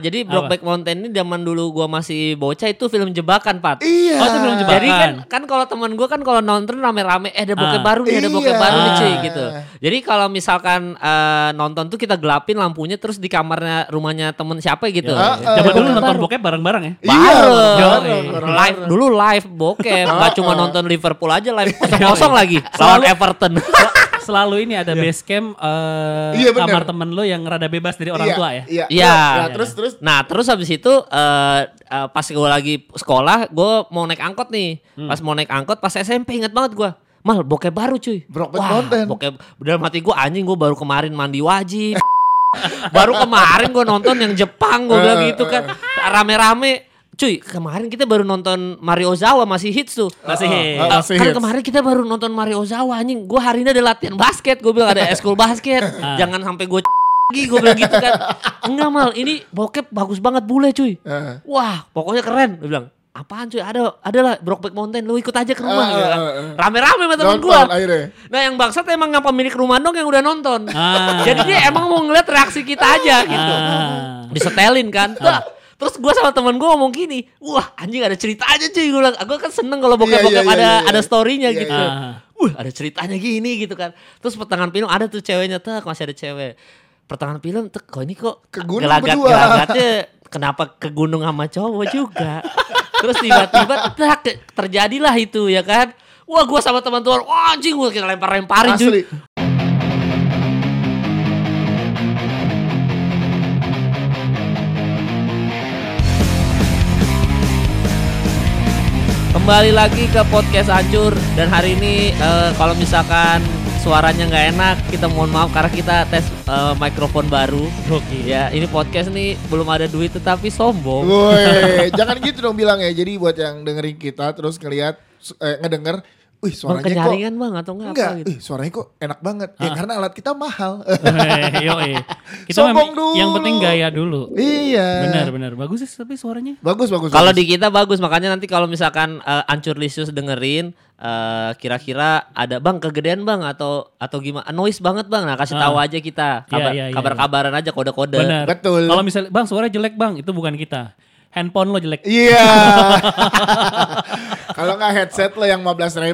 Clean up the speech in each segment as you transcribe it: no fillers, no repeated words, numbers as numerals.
Jadi Brokeback Mountain ini zaman dulu gua masih bocah itu film jebakan, Pat. Iya. Oh, itu film jebakan. Jadi kan kalau teman gua kan kalau nonton rame-rame ada bokep baru nih, ada bokep baru nih cuy gitu. Jadi kalau misalkan nonton tuh kita gelapin lampunya terus di kamarnya rumahnya temen siapa gitu. Zaman dulu nonton bokep bareng-bareng ya. Bareng. Live dulu live bokep, enggak cuma nonton Liverpool aja live kosong lagi lawan Everton. Selalu ini ada base camp kamar temen lo yang rada bebas dari orang tua ya. Iya. Terus. Nah terus habis itu pas gue lagi sekolah gue mau naik angkot nih. Pas mau naik angkot pas SMP inget banget gue. Mal bokep baru cuy. Brokeback Mountain. Bokep dalam hati gue anjing gue baru kemarin mandi wajib. Baru kemarin gue nonton yang Jepang gue bilang gitu kan. Rame-rame. Cuy, kemarin kita baru nonton Mario Ozawa masih hits tuh. Masih Kan kemarin kita baru nonton Mario Ozawa anjing. Gue hari ini ada latihan basket. Gue bilang ada eskul basket. Jangan sampai gue lagi gue bilang gitu kan. Enggak Mal, ini bokep bagus banget bule cuy. Wah, pokoknya keren. Dia bilang, apaan cuy? Ada lah Brokeback Mountain. Lu ikut aja ke rumah gitu kan. Rame-rame sama temen gue. Nah yang bangsat emang yang pemilik rumah dong yang udah nonton. Jadi dia emang mau ngeliat reaksi kita aja gitu. Disetelin kan. Terus gue sama temen gue ngomong gini, wah anjing ada cerita aja cuy. Gue bilang, gue kan seneng kalau bokep-bokep ada story-nya gitu. Wah ada ceritanya gini gitu kan. Terus pertengahan film ada tuh ceweknya, masih ada cewek. Pertengahan film, kok ini kok gelagatnya kenapa ke gunung sama cowok juga. Terus tiba-tiba terjadilah itu ya kan. Wah gue sama teman-teman, wah anjing gue kita lempar-lemparin cuy. Kembali lagi ke podcast Hancur. Dan hari ini kalau misalkan suaranya nggak enak, kita mohon maaf karena kita tes mikrofon baru. Ya ini podcast nih belum ada duit tetapi sombong. Woi, jangan gitu dong bilang ya. Jadi buat yang dengerin kita terus ngelihat ngedenger, wih suaranya kenyaringan kok bang atau enggak gitu. Suaranya kok enak banget. Ya karena alat kita mahal. Kita yang penting gaya dulu. Iya. Benar. Bagus sih tapi suaranya. Bagus. Kalau di kita bagus, makanya nanti kalau misalkan Hancur Lisius dengerin kira-kira ada bang kegedean bang atau gimana noise banget bang, nah kasih tahu aja kita kabar-kabaran aja kode-kode. Benar. Betul. Kalau misalnya bang suara jelek bang itu bukan kita. Handphone lo jelek. Iya. Kalau nggak headset lo yang 15.000.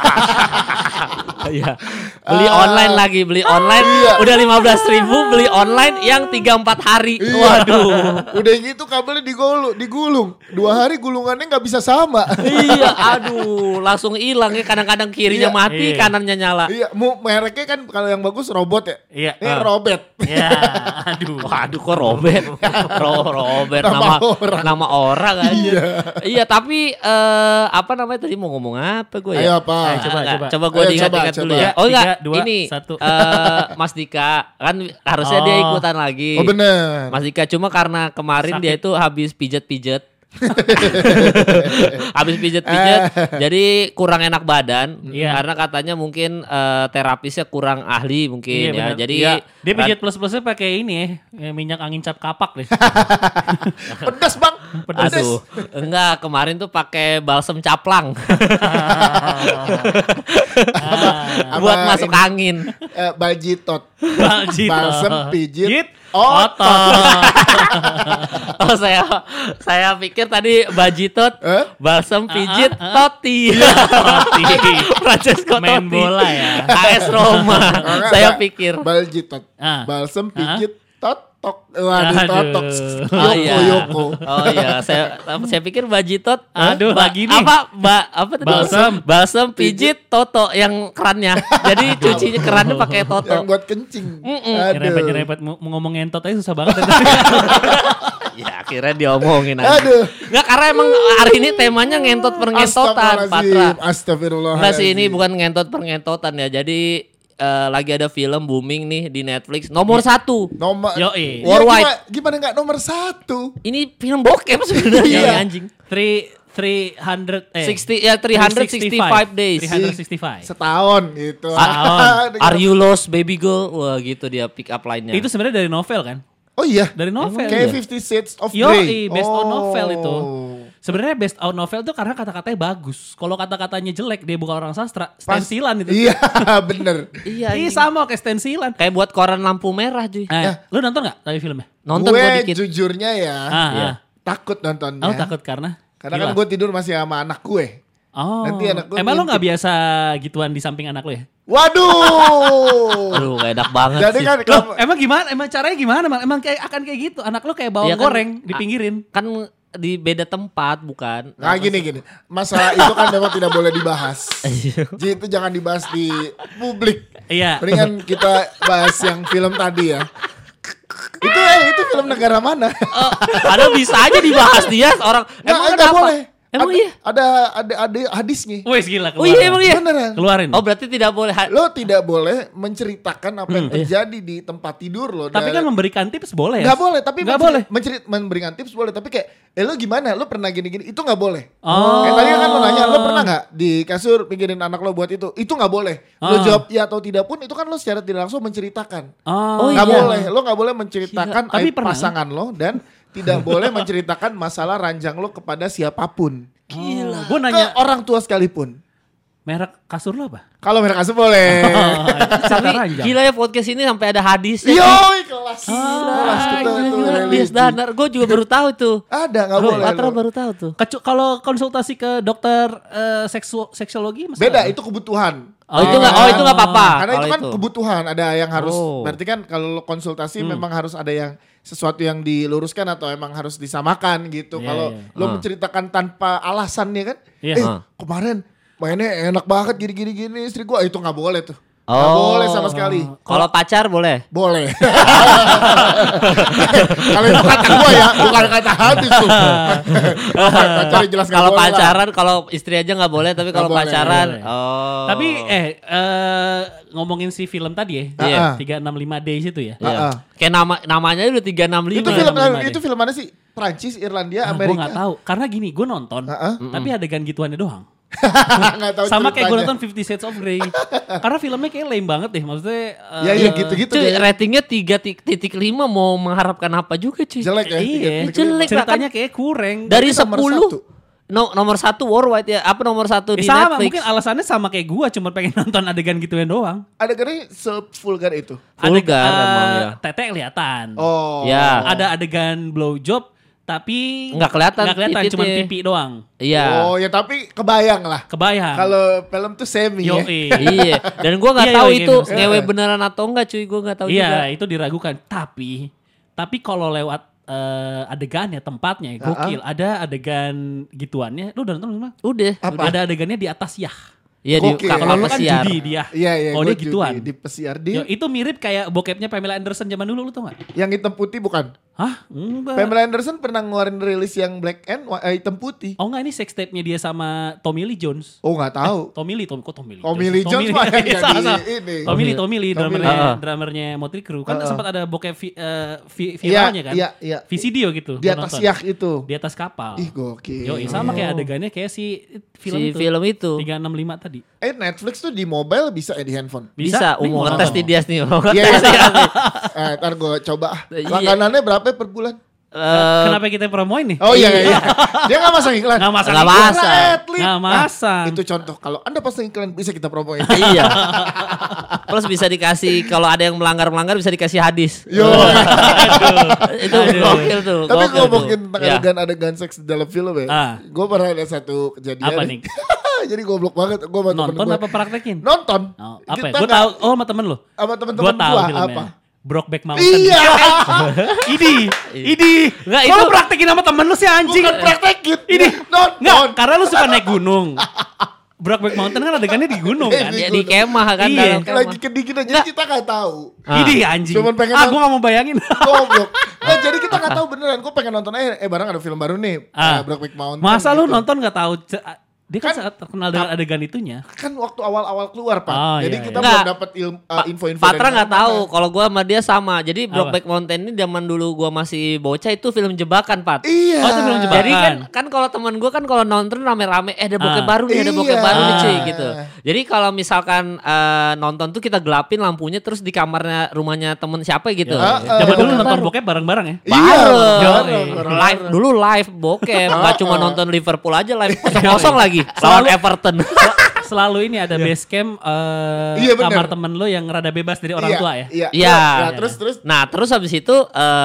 Iya. Beli online udah 15.000, beli online yang 3-4 hari. Waduh. Udah gitu kabelnya digulung. 2 hari gulungannya nggak bisa sama. Iya, aduh, langsung hilang ya. Kadang-kadang kirinya mati, kanannya nyala. Iya, mereknya kan kalau yang bagus robot ya. Iya. Ini Robert. Iya. Waduh, kok Robert? Robert nama orang aja. Iya, tapi apa namanya tadi mau ngomong apa gue ya? Ayo apa? Coba gue diingat-ingat dulu ya. Oh enggak, 3, 2, ini 1. Mas Dika kan harusnya dia ikutan lagi. Oh bener. Mas Dika cuma karena kemarin dia itu habis pijet-pijet. Habis pijet-pijet jadi kurang enak badan karena katanya mungkin terapisnya kurang ahli mungkin ya. Jadi dia pijat plus-plusnya pakai ini minyak angin cap kapak deh. Pedas bang. Pedas. Aduh, enggak kemarin tuh pakai balsem caplang. Buat masuk angin. Baljitot. Balsem pijit otot. Oh saya pikir tadi bajitot, balsem pijit toti. Francesco main Totti. bola ya. AS Roma. Saya pikir baljitot, balsem pijit totok. Waduh, totok. Yoko. Oh iya, saya pikir bajitot. Aduh, lagi nih. Apa tadi? Balsem pijit toto yang kerannya. Jadi cucinya kerannya pakai toto. Yang buat kencing. Nyerempet ngomong ngentot aja susah banget. Ya akhirnya diomongin aja. Nggak, karena emang hari ini temanya ngentot pengentotan, Patra. Astagfirullah. Nggak sih, ini bukan ngentot pengentotan ya. Jadi lagi ada film booming nih di Netflix. Nomor 1. Worldwide. Gimana nggak nomor 1? Ini film bokep sebenarnya anjing. 365 days. 365. Setahun gitu. Are you lost baby girl? Wah gitu dia pick up line-nya. Itu sebenarnya dari novel kan? Oh iya. Dari novel. Kayak 50 Shades of Grey. Based on novel itu. Sebenarnya based on novel tuh karena kata-katanya bagus. Kalau kata-katanya jelek, dia bukan orang sastra, stensilan itu. Iya, bener. Iya. Iya sama kayak stensilan. Kayak buat koran lampu merah cuy. Lu nonton gak tadi filmnya? Nonton gue dikit. jujurnya ya, takut nontonnya. Oh takut karena? Karena kan gue tidur masih sama anak gue. Oh. Nanti anak gue emang lo gak biasa gituan di samping anak lo ya? Waduh. Aduh gak enak banget Jadi sih. kan Loh, emang gimana? Emang caranya gimana? Emang kayak akan kayak gitu? Anak lo kayak bawang Iya kan, goreng dipinggirin. Kan di beda tempat bukan? Nah gini. Masalah itu kan memang tidak boleh dibahas. Jadi itu jangan dibahas di publik. Iya. Mendingan kita bahas yang film tadi ya. Itu film negara mana? Padahal bisa aja dibahas dia orang. Emang Nggak kenapa? boleh. Emang iya? Ada hadisnya. Wes gila Oh iya emang iya. Beneran. Keluarin. Oh berarti tidak boleh. Lo tidak boleh menceritakan apa yang terjadi di tempat tidur lo. Tapi kan memberikan tips boleh ya? Nggak boleh, tapi nggak boleh. memberikan tips boleh. Tapi kayak, lo gimana? Lo pernah gini-gini? Itu nggak boleh. Oh. Tadi kan lo nanya, lo pernah nggak di kasur pikirin anak lo buat itu? Itu nggak boleh. Lo jawab ya atau tidak pun, itu kan lo secara tidak langsung menceritakan. Oh, Nggak iya. boleh. Lo nggak boleh menceritakan Gila. Tapi aib pernah. pasangan lo dan tidak boleh menceritakan masalah ranjang lo kepada siapapun. Gila. Gue Ke nanya orang tua sekalipun. merek kasur lo apa? Kalau mereka kasih boleh. Tapi Gila ya podcast ini sampai ada hadisnya. Yoi kelas. Kelas kita itu Gila, religi. Dias Danar. Gue juga baru tahu tuh. Ada nggak boleh. Patra lo. baru tahu tuh. Kalau konsultasi ke dokter seksiologi masalah Beda apa? itu kebutuhan. Oh itu nggak apa-apa. Karena itu kalau kan kebutuhan, ada yang harus. Oh. Berarti kan kalau lo konsultasi memang harus ada yang sesuatu yang diluruskan atau emang harus disamakan gitu. Iya, Kalau iya. lo menceritakan tanpa alasan ya kan, Iya. kemarin mainnya enak banget gini istri gua, itu nggak boleh tuh. Nggak Oh. boleh sama sekali. Kalau pacar boleh. Boleh. Kalau itu kata gua ya, bukan kata hadis tuh. Pacar jelas nggak Kalau boleh lah. pacaran, kalau istri aja nggak boleh, tapi kalau boleh, pacaran, boleh. oh. Tapi ngomongin si film tadi ya, Iya. 365 Days itu ya. Iya. Kayak namanya udah 365. Itu Iya, film lima itu deh. film mana sih? Prancis, Irlandia, Gue Amerika. gak tahu, karena gini gue nonton, tapi adegan gituannya doang. Nggak tahu Sama kayak gue ceritanya. nonton 50 Shades of Grey. Karena filmnya kayak lame banget deh, maksudnya. Iya gitu-gitu Cuy, deh. ratingnya 3.5 mau mengharapkan apa juga cuy. Jelek ya. Iya, 3,5. jelek. ceritanya kayak kurang. Dari Berarti nomor 10. Nomor 1 worldwide ya. Apa nomor 1 di sama, Netflix? mungkin alasannya sama kayak gue, cuma pengen nonton adegan gituan doang. Adegannya sevulgar itu. Vulgar emang ya. Tete kelihatan. Oh. Ya. Ada adegan blowjob, tapi Nggak kelihatan cuma titiknya. pipi doang. Iya. Oh ya tapi kebayang lah. Kebayang. Kalau film tuh semi ya. Yoi. Iya. Dan gue nggak Iya, tahu iya, itu iya. ngewe beneran atau enggak cuy. Gue nggak tahu juga. Iya, itu diragukan. Tapi kalau lewat adegannya, tempatnya gokil. Ada adegan gituannya. Lu udah nonton belum? Udah. Apa? Ada adegannya di atas yah. Iya di Gokil. Kalau lu kan pesiar. judi dia. Iya. Oh gua dia gituan. Di pesiar Yo, itu mirip kayak bokepnya Pamela Anderson zaman dulu, lu tau gak? yang hitam putih bukan? Hah? Enggak. Pamela Anderson pernah ngeluarin rilis yang black and hitam putih. Oh enggak, ini sex tape-nya dia sama Tommy Lee Jones. Oh nggak tahu. Tommy Lee Tommy Lee Jones mah yang Salah, jadi salah. ini. Tommy Lee drummernya Motley Crue. Kan sempat ada bokep viralnya kan? Iya. VCD gitu. Di atas yak itu. Di atas kapal. Ih gokil. Yo, sama kayak adegannya kayak si film Si itu. film itu. 365 tadi. Netflix tuh di mobile bisa ya di handphone. Bisa. Nih, Mau mau ngetes nonton. di Dias nih. Iya. Ntar gue coba. Iya. Langganannya berapa per bulan? Kenapa kita promoin nih? Oh iya. Dia nggak masang iklan. Nggak masang Nggak iklan. masang. Nggak masang. Itu contoh. Kalau Anda pasang iklan bisa kita promoin. Iya. Plus bisa dikasih kalau ada yang melanggar bisa dikasih hadis. Yo. Itu gokil tuh. Tapi gokil ngomongin tuh. tentang Ya. adegan seks dalam film ya. Ah. Gue pernah ada satu kejadian. Apa nih? Jadi goblok banget. Gue sama temen Nonton gue. apa praktekin? Nonton. Oh, apa ya? Kita Gue nggak- tahu. Oh, sama temen lu. Sama Gue temen-temen tahu gue filmnya. apa? Brokeback Mountain. Iya. Idi. Nggak, Kok lu itu- praktekin sama temen lu sih anjing? Bukan praktekin. Ini Nonton. Nggak, karena lu suka naik gunung. Brokeback Mountain kan adegannya di gunung kan. Di Di kemah kan. Iya. dalam kemah. Lagi kedinginan jadi kita nggak tahu. Idi anjing. Cuman pengen gue gak mau bayangin. Goblok. Jadi kita nggak tahu beneran. Gue pengen nonton barang ada film baru nih. Brokeback Mountain. Masa lu gitu. nonton gak tahu Dia kan sangat terkenal dengan adegan itunya. Kan waktu awal-awal keluar Pak. Oh, Jadi iya, kita iya. belum Nggak, dapat info-info Patra dari nggak mana-mana. tahu kalau gue sama dia sama. Jadi Brokeback Mountain ini zaman dulu gue masih bocah itu film jebakan, Pat. Iya. Oh, itu film jebakan. Jadi kan kalau teman gue kan kalau nonton rame-rame ada bokep Ah. baru nih, ada bokep Iya. baru nih cuy Ah. gitu. Jadi kalau misalkan nonton tuh kita gelapin lampunya terus di kamarnya rumahnya temen siapa gitu. Zaman dulu nonton bokep bareng-bareng ya. Bareng. Live dulu live bokep, nggak cuma nonton Liverpool aja live kosong lagi lawan Everton. Selalu ini ada base camp Iya, bener. kamar temen lo yang rada bebas dari orang tua ya. Iya. Iya. Nah, terus Nah terus habis itu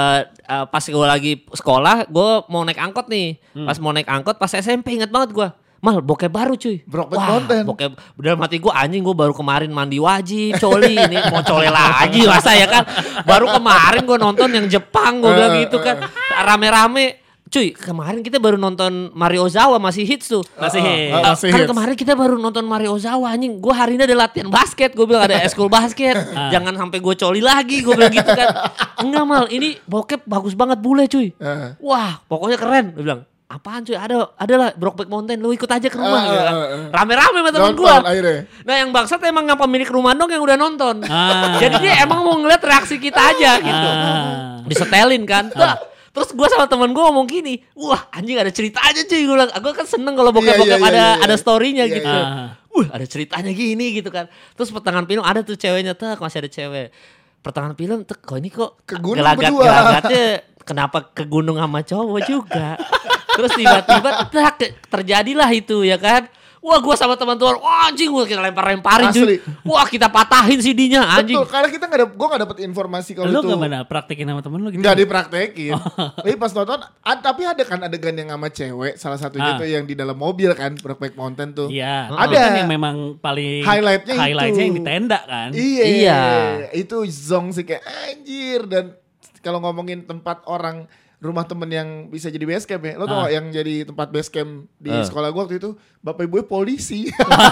pas gue lagi sekolah gue mau naik angkot nih. Pas mau naik angkot pas SMP inget banget gue. Mal bokep baru cuy. Brokeback Mountain. Bokep dalam hati gue anjing gue baru kemarin mandi wajib coli ini mau coli lagi masa ya kan. Baru kemarin gue nonton yang Jepang gue bilang gitu kan. Rame-rame. Cuy kemarin kita baru nonton Mario Ozawa masih hits tuh. Masih hits. Masih Kan hits. kemarin kita baru nonton Mario Ozawa anjing. Gue hari ini ada latihan basket. Gue bilang ada eskul basket. Jangan sampai gue coli lagi. Gue bilang gitu kan. Enggak Mal ini bokep bagus banget bule cuy. Wah pokoknya keren. Dia bilang apaan cuy ada lah Brokeback Mountain. Lu ikut aja ke rumah gitu kan. Rame-rame sama temen gue. Nonton akhirnya. Nah yang bangsat emang yang pemilik rumah dong yang udah nonton. Ah. Jadi dia emang mau ngeliat reaksi kita aja gitu. Disetelin kan. Terus gue sama temen gue ngomong gini, wah anjing ada cerita aja cuy. Gue bilang, gue kan seneng kalau bokep-bokep Iya, ada storynya Iya, gitu. iya. Ada ceritanya gini gitu kan. Terus pertengahan film ada tuh ceweknya tuh masih ada cewek. Pertengahan film tuh kok ini kok Ke gunung berdua. gelagatnya kenapa ke gunung sama cowok juga. Terus tiba-tiba terjadilah itu ya kan. Wah gue sama teman-teman, wah anjing gue kita lempar-lemparin Asli. cuy. Wah kita patahin CD-nya anjing. Betul, karena kita gue gak dapet informasi kalau Lo itu. gimana praktekin sama temen lo gitu? Nggak dipraktekin. Tapi pas nonton, tapi ada kan adegan yang sama cewek, salah satunya tuh yang di dalam mobil kan, Brokeback Mountain tuh. Iya. Ada. Itu kan yang memang paling Highlightnya itu. yang di tenda kan. Iya. Itu zong sih kayak anjir. Dan kalau ngomongin tempat orang, rumah temen yang bisa jadi base camp ya. Lo tau gak yang jadi tempat base camp di sekolah gue waktu itu, bapak ibu polisi.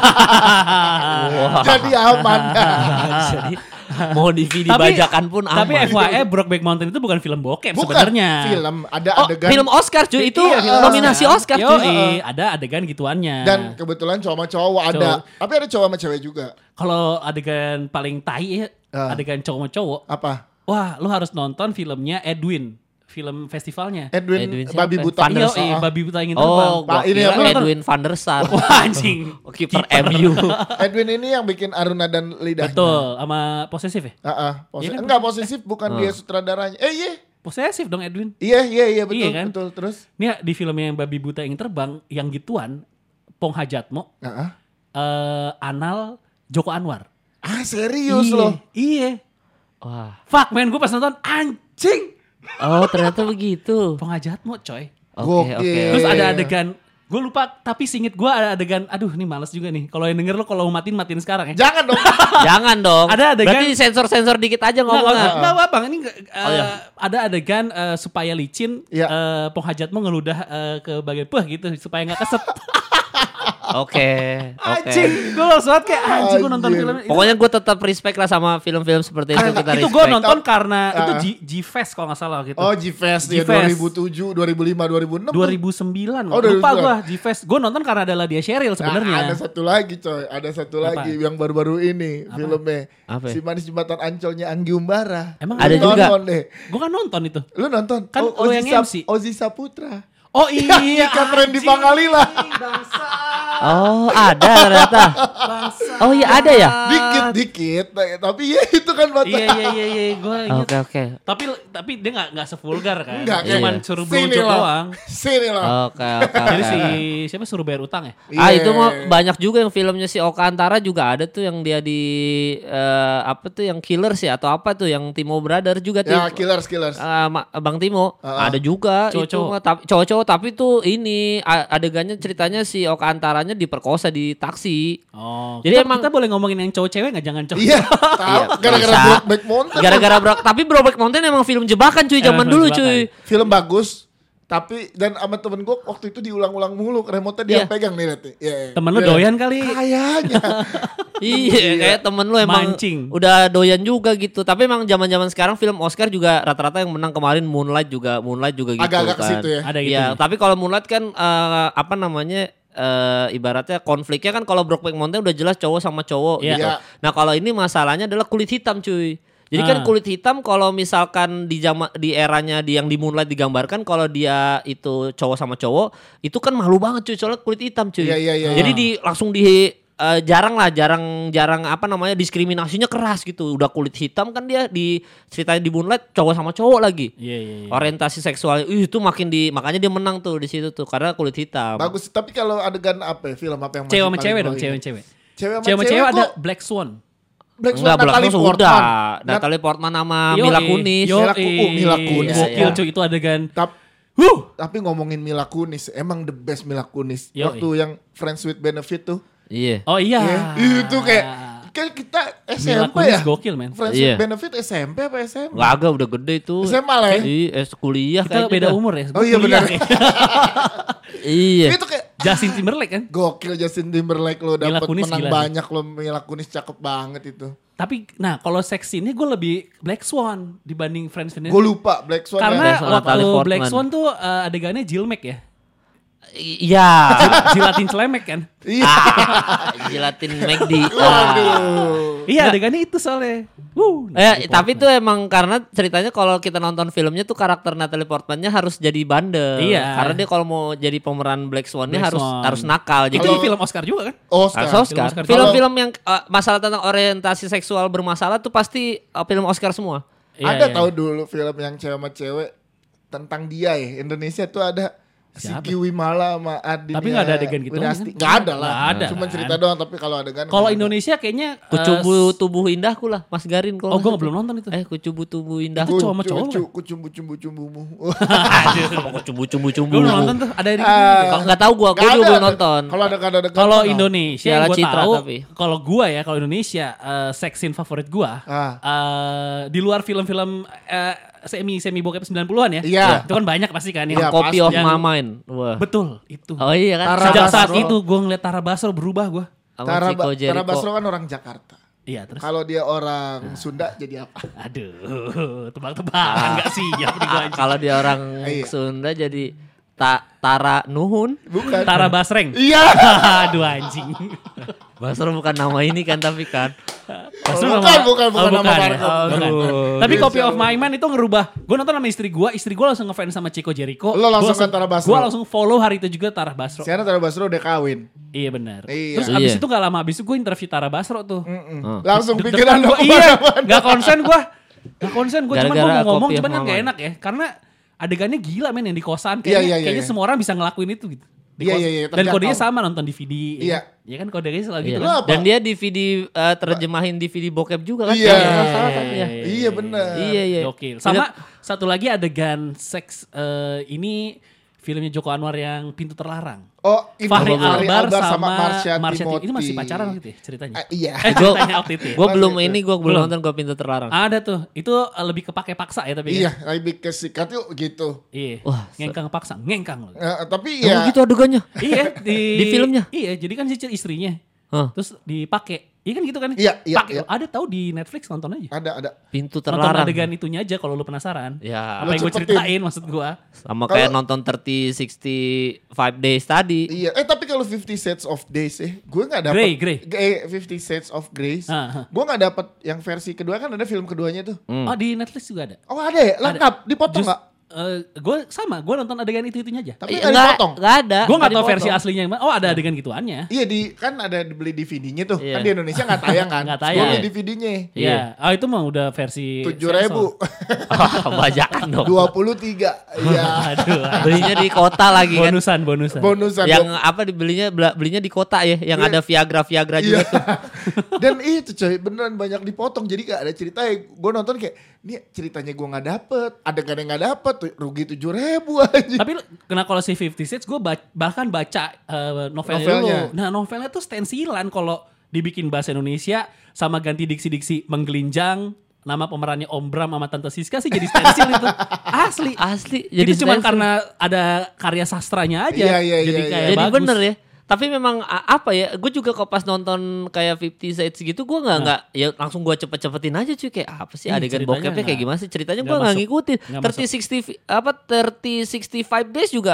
Jadi aman. Jadi mau DVD bajakan pun aman. Tapi FYI Brokeback Mountain itu bukan film bokep Bukan sebenarnya. film, ada Oh, adegan. film Oscar cuy itu Iya, film nominasi Oscar cuy. Yoi, ada adegan gituannya. Dan kebetulan cowok sama cowok ada. Tapi ada cowok sama cewek juga. Kalau adegan paling tai ya, adegan cowok sama cowok. Apa? Wah, lu harus nonton filmnya Edwin, film festivalnya. Edwin siapa? babi buta. Van der Iya, Sar. babi buta ingin terbang. Oh, Pak, gua ini kira apa? Edwin van der Sar. Wah, anjing. Kiper MU. Edwin ini yang bikin Aruna dan lidahnya. Betul, sama posesif ya? Iya kan? Enggak posesif, bukan dia sutradaranya. Iya. Posesif dong Edwin. Iya betul Iya kan? betul terus. Ini di film yang babi buta ingin terbang, yang gituan, Pong Hajatmo, Anal Joko Anwar. Serius Iya, loh. Iya. Wah. Fuck man, gue pas nonton anjing. Oh, ternyata begitu. Pong Hajatmo coy. Oke. Gokil. Terus ada adegan, gue lupa tapi singit gue ada adegan, aduh ini males juga nih. Kalau yang denger lo kalau matiin sekarang ya. Jangan dong. Jangan dong. Ada adegan- Berarti sensor-sensor dikit aja ngomongnya. Enggak apa-apa, ini iya. ada adegan supaya licin, Iya. Pong Hajatmo ngeludah ke bagian gitu supaya nggak keset. Oke. Anjing, gue langsung banget kayak anjing gue nonton Anjir. film itu. Pokoknya gue tetap respect lah sama film-film seperti itu kita itu respect. gue nonton karena itu G-Fest kalau nggak salah gitu. Oh G-Fest ya G-Fest. 2007, 2005, 2006. 2009 Oh, lupa 2009. gue G-Fest. Gue nonton karena adalah dia Cheryl Nah, sebenarnya. ada satu lagi coy, ada satu Apa? lagi yang baru-baru ini filmnya. Apa? Si Manis Jembatan Ancolnya Anggi Umbara. Emang Ada Lu juga. nonton deh. Gue kan nonton itu. Lu nonton? Kan lu yang MC. Ozi Saputra. Oh iya, Ikan Randy Pangalila. Oh, ada ternyata. Oh iya ada ya? Dikit, tapi ya itu kan mata. Iya, gue ingat. Oke. Tapi dia nggak sevulgar kan. Enggak, Cuman iya. suruh Sini blowjob lah. doang. Sini lah. Oke. Jadi si siapa suruh bayar utang ya? Ah Iya. itu mah banyak juga yang filmnya si Oka Antara juga ada tuh yang dia di apa tuh yang Killers ya atau apa tuh yang Timo Brother juga tuh. Ya, killers. Bang Timo ada juga Cowok-cowok. itu mah, tapi cowok-cowok tapi tuh ini adegannya ceritanya si Oka Antaranya diperkosa di taksi. Oh. Jadi Jadi emang- kita boleh ngomongin yang cowok cewek nggak? Jangan cowok. Iya, tahu gara-gara bisa. Brokeback Mountain. Gara-gara tapi Brokeback Mountain emang film jebakan cuy zaman Film dulu jebakan. cuy. Film bagus, tapi dan sama temen gue waktu itu diulang-ulang mulu, remote-nya dia Iya. yang pegang nih lihat nih. Iya. Temen lu Iya. doyan kali. Kayaknya. Iya, kayak temen lu emang Mancing. udah doyan juga gitu. Tapi emang zaman-zaman sekarang film Oscar juga rata-rata yang menang kemarin Moonlight juga gitu Agak-agak ke kan. situ ya. Ada gitu. Iya, tapi kalau Moonlight kan apa namanya ibaratnya konfliknya kan kalau Brokeback Mountain udah jelas cowok sama cowok Iya. gitu. Iya. Nah kalau ini masalahnya adalah kulit hitam cuy. Jadi kan kulit hitam kalau misalkan di eranya yang di Moonlight digambarkan kalau dia itu cowok sama cowok itu kan malu banget cuy soalnya kulit hitam cuy. Iya. Jadi langsung jarang apa namanya diskriminasinya keras gitu. Udah kulit hitam kan dia ceritain di Moonlight cowok sama cowok lagi. Iya. Orientasi seksual itu makanya dia menang tuh di situ tuh karena kulit hitam. Bagus, tapi kalau adegan apa ya, film apa yang Cewek sama paling cewek lo dong, ingat? cewek. Cewek Cewek sama cewek ada kok Black Swan. Black Swan, Enggak, Natalie belakang Portman. sudah. Natalie Portman sama Mila Kunis. Mila Kunis. Gokil Iya. cuy itu adegan. Tapi ngomongin Mila Kunis, emang the best Mila Kunis. Yoi. Waktu yang Friends with Benefit tuh. Iya. Oh iya. Itu kayak kan kita Mila SMP Kunis ya. gokil men. Friends Iya. with Benefit SMP apa SMA? Agak udah gede itu. SMA lah ya. Iya, kuliah Kita kayaknya beda dah. umur ya. Oh iya Kuliah benar. ya. Iya. Itu kayak Justin Timberlake kan. gokil Justin Timberlake lo Mila dapat Kunis menang gila sih. banyak lo. Mila Kunis cakep banget itu. Tapi nah kalau seks scene-nya gue lebih Black Swan dibanding Friends with Gue lupa Black Swan. Karena Swan, waktu Natalie Portman. Black Swan tuh adegannya Jilmek ya. Iya. Jilatin celemek kan. Iya. Jilatin McD. Waduh. Iya adegannya itu soalnya. Tapi itu emang karena ceritanya kalau kita nonton filmnya tuh karakter Natalie Portman-nya harus jadi bandel. Iya. Karena dia kalau mau jadi pemeran Black Swan-nya Black harus Swan. harus nakal. Itu Jadi film Oscar juga kan? Oscar. Oscar. Oscar. Film-film yang masalah tentang orientasi seksual bermasalah tuh pasti film Oscar semua. Ada Iya. tahu dulu film yang cewek sama cewek tentang dia ya. Indonesia tuh ada Siapa? Sigi Wimala sama Adin. Tapi nggak ada adegan gitu Winasti. kan? Nggak ada lah. Nggak ada Cuma kan? cerita doang. Tapi kalau adegan. Kalau nggak ada. Indonesia kayaknya Kucubu tubuh indahku lah, Mas Garin. Oh gue belum nonton itu. Kucubu tubuh indahku. Itu cowok sama cowok kan? Kucumbu-cumbu-cumbumu. Kucumbu-cumbu. Gue belum nonton tuh. Ada di Kalau nggak tahu gue juga belum nonton. Kalau ada adegan. Kalau Indonesia Piala gue Citra tahu. tapi. Kalau gue ya kalau Indonesia sex scene favorit gue di luar film-film semi bokep 90-an ya. Iya. Itu kan banyak pasti kan yang Iya, Copy pasti. of Yang- my mind. Wah. betul itu. Oh iya kan. Tara Sejak saat Basro. itu gue ngeliat Tara Basro berubah gue. Sama Tara Chico Jericho. Tara Basro kan orang Jakarta. Iya terus. Kalau dia orang Sunda jadi apa? Aduh, tebak-tebakan gak siap nih gue anjing. Kalau dia orang Iya. Sunda jadi Tara Nuhun. Bukan. Tara Basreng. Iya. Aduh anjing. Basro bukan nama ini kan tapi kan. Basro Bukan nama ya? Marco. Oh, bukan. Aduh. Tapi Bisa Copy of lu. My Mind itu ngerubah. Gue nonton sama istri gue langsung ngefans sama Chico Jericho. Lo langsung Gua ke Tara Basro. Gue langsung follow hari itu juga Tara Basro. Sekarang Tara Basro udah kawin. Iya benar. Iya. Terus abis Iya. itu gak lama abis itu gue interview Tara Basro tuh. Langsung Deg-degan pikiran gua, lo iya, gak konsen gue. Gak konsen gue cuman gue Gara-gara mau ngomong Copy of cuman kan My gak Mind. enak ya. Karena adegannya gila men yang di kosan. Iya, Kayaknya iya. semua orang bisa ngelakuin itu gitu. Di Iya, kos- iya, iya, Dan terjangkau. kodenya sama nonton DVD. Iya. Ya kan kodenya selalu gitu Iya. kan. Apa? Dan dia DVD terjemahin DVD bokep juga kan. Iya. Kalau nggak salah kan, ya. Iya benar. Iya iya. Gokil. Sama satu lagi adegan seks ini filmnya Joko Anwar yang Pintu Terlarang. Oh, ini Fahri Albar sama Marsha Marsha Timothy. Itu masih pacaran waktu itu ya ceritanya? Iya. Ceritanya waktu itu ya? Gue belum Masih ini itu. gue belum Belum. nonton gue Pintu Terlarang. Ada tuh. Itu lebih kepake paksa ya tapi Iya, kan? lebih ke sikat yuk gitu. Iya. Wah, Ngengkang paksa. Ngengkang loh. Tapi Oh ya gitu adegannya. Iya Di filmnya? Iya, jadi kan si istrinya. Hah. Terus dipakai. Iya kan gitu kan? Iya, iya, Pakai. iya. Ada tahu di Netflix nonton aja. ada. Pintu Nonton Terlarang. adegan itunya aja kalau lu penasaran. Ya. Apa yang gue cepetin. ceritain maksud gue. Sama kayak nonton 65 Days tadi. Iya, tapi kalau 50 Shades of Days gue nggak dapet. Grey. 50 Shades of Grace. Ah, ah. Gue nggak dapet yang versi kedua kan ada film keduanya tuh. Oh di Netflix juga ada. Oh ada ya, lengkap, dipotong nggak? Gue sama, gue nonton adegan itu-itunya aja. Tapi Iya, nggak dipotong. Nggak ada. Gue gak Nggak tahu versi dipotong. aslinya yang mana. Oh ada adegan gituannya. Iya kan ada dibeli DVD-nya tuh. Iya. Kan di Indonesia nggak tayang kan? Nggak tayang. Gue beli DVD-nya. Iya. Oh itu mah udah versi 7.000. Bajakan dong. 23. Iya. Aduh. Belinya di kota lagi kan. Bonusan. Bonusan. Yang apa belinya di kota ya, yang Iya. ada Viagra Iya. juga tuh. Dan itu coy beneran banyak dipotong. Jadi gak ada ceritanya. Gue nonton kayak ini ceritanya gue gak dapet. Adegan yang gak dapet. Rugi 7.000 aja. Tapi kena kalau si 50 Shades gue bahkan baca novelnya Novelnya. dulu. Nah novelnya tuh stensilan kalau dibikin bahasa Indonesia sama ganti diksi-diksi menggelinjang. Nama pemerannya Om Bram sama Tante Siska sih jadi stensil itu. Asli. Jadi Itu cuma stencil. karena ada karya sastranya aja. Iya, jadi iya, kayak Jadi bagus. bener ya. Tapi memang apa ya, gue juga kok pas nonton kayak 50 Shades gitu, gue nggak ya langsung gue cepet-cepetin aja cuy, kayak apa sih Ih, adegan ceritanya bokepnya kayak nggak- gimana sih ceritanya, gue nggak nggak masuk. ngikutin. Nggak 30 65 days juga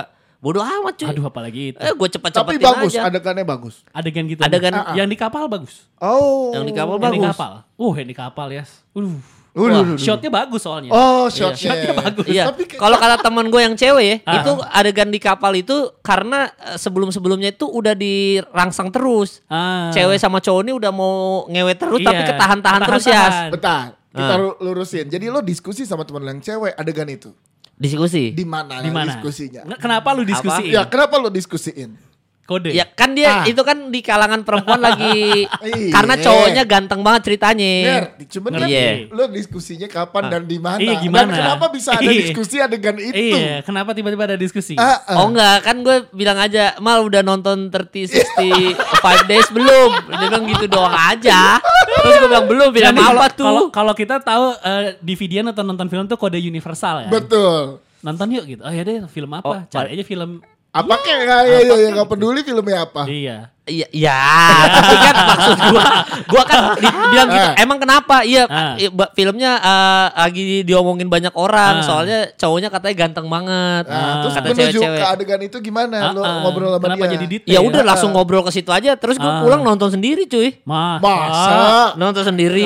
Bodoh amat cuy. Aduh apalagi itu. Gue Tapi cepet-cepetin bagus, aja. adegannya bagus. Adegan gitu. Adegan- yang di kapal bagus. Oh. Yang di kapal Yang di bagus. kapal. Yang di kapal ya. Wah, Shotnya bagus soalnya. Oh, shotnya bagus. Iya. Tapi Kalau kata teman gue yang cewek ya, Ah. itu adegan di kapal itu karena sebelum-sebelumnya itu udah dirangsang terus. Cewek sama cowok ini udah mau ngewe terus Iya, tapi ketahan-tahan terus ya. ketahan-tahan. bentar, kita lurusin. Jadi lo diskusi sama teman lo yang cewek adegan itu. Diskusi. Di mana Di mana? diskusinya? Kenapa lu diskusiin? Ya, kenapa lo diskusiin? Kode. Ya kan dia itu kan di kalangan perempuan lagi Iya. karena cowoknya ganteng banget ceritanya. Ngerti, cuman kan Iya. lo diskusinya kapan dan di mana? Iya, gimana? Dan kenapa bisa ada Iya. diskusi adegan itu? Iya, kenapa tiba-tiba ada diskusi? Oh enggak, kan gue bilang aja, Mal udah nonton 30-65 Days belum? Dia bilang gitu doang aja. Terus gue bilang belum, bilang Jadi apa tuh? Kalau kita tahu DVD atau nonton film tuh kode universal ya. Betul. Nonton yuk gitu. Oh ya deh, film apa? Cari aja film. Apa kayak ya nggak peduli filmnya apa? Iya. Iya, tapi kan maksud gua kan bilang gitu. Emang kenapa? Iya, filmnya lagi diomongin banyak orang. Soalnya cowoknya katanya ganteng banget. Terus Kata menuju cewek-cewek. ke adegan itu gimana? Lo ngobrol sama Kenapa dia? jadi detail? Ya udah langsung ngobrol ke situ aja. Terus gua pulang nonton sendiri, cuy. Masa? Nonton sendiri.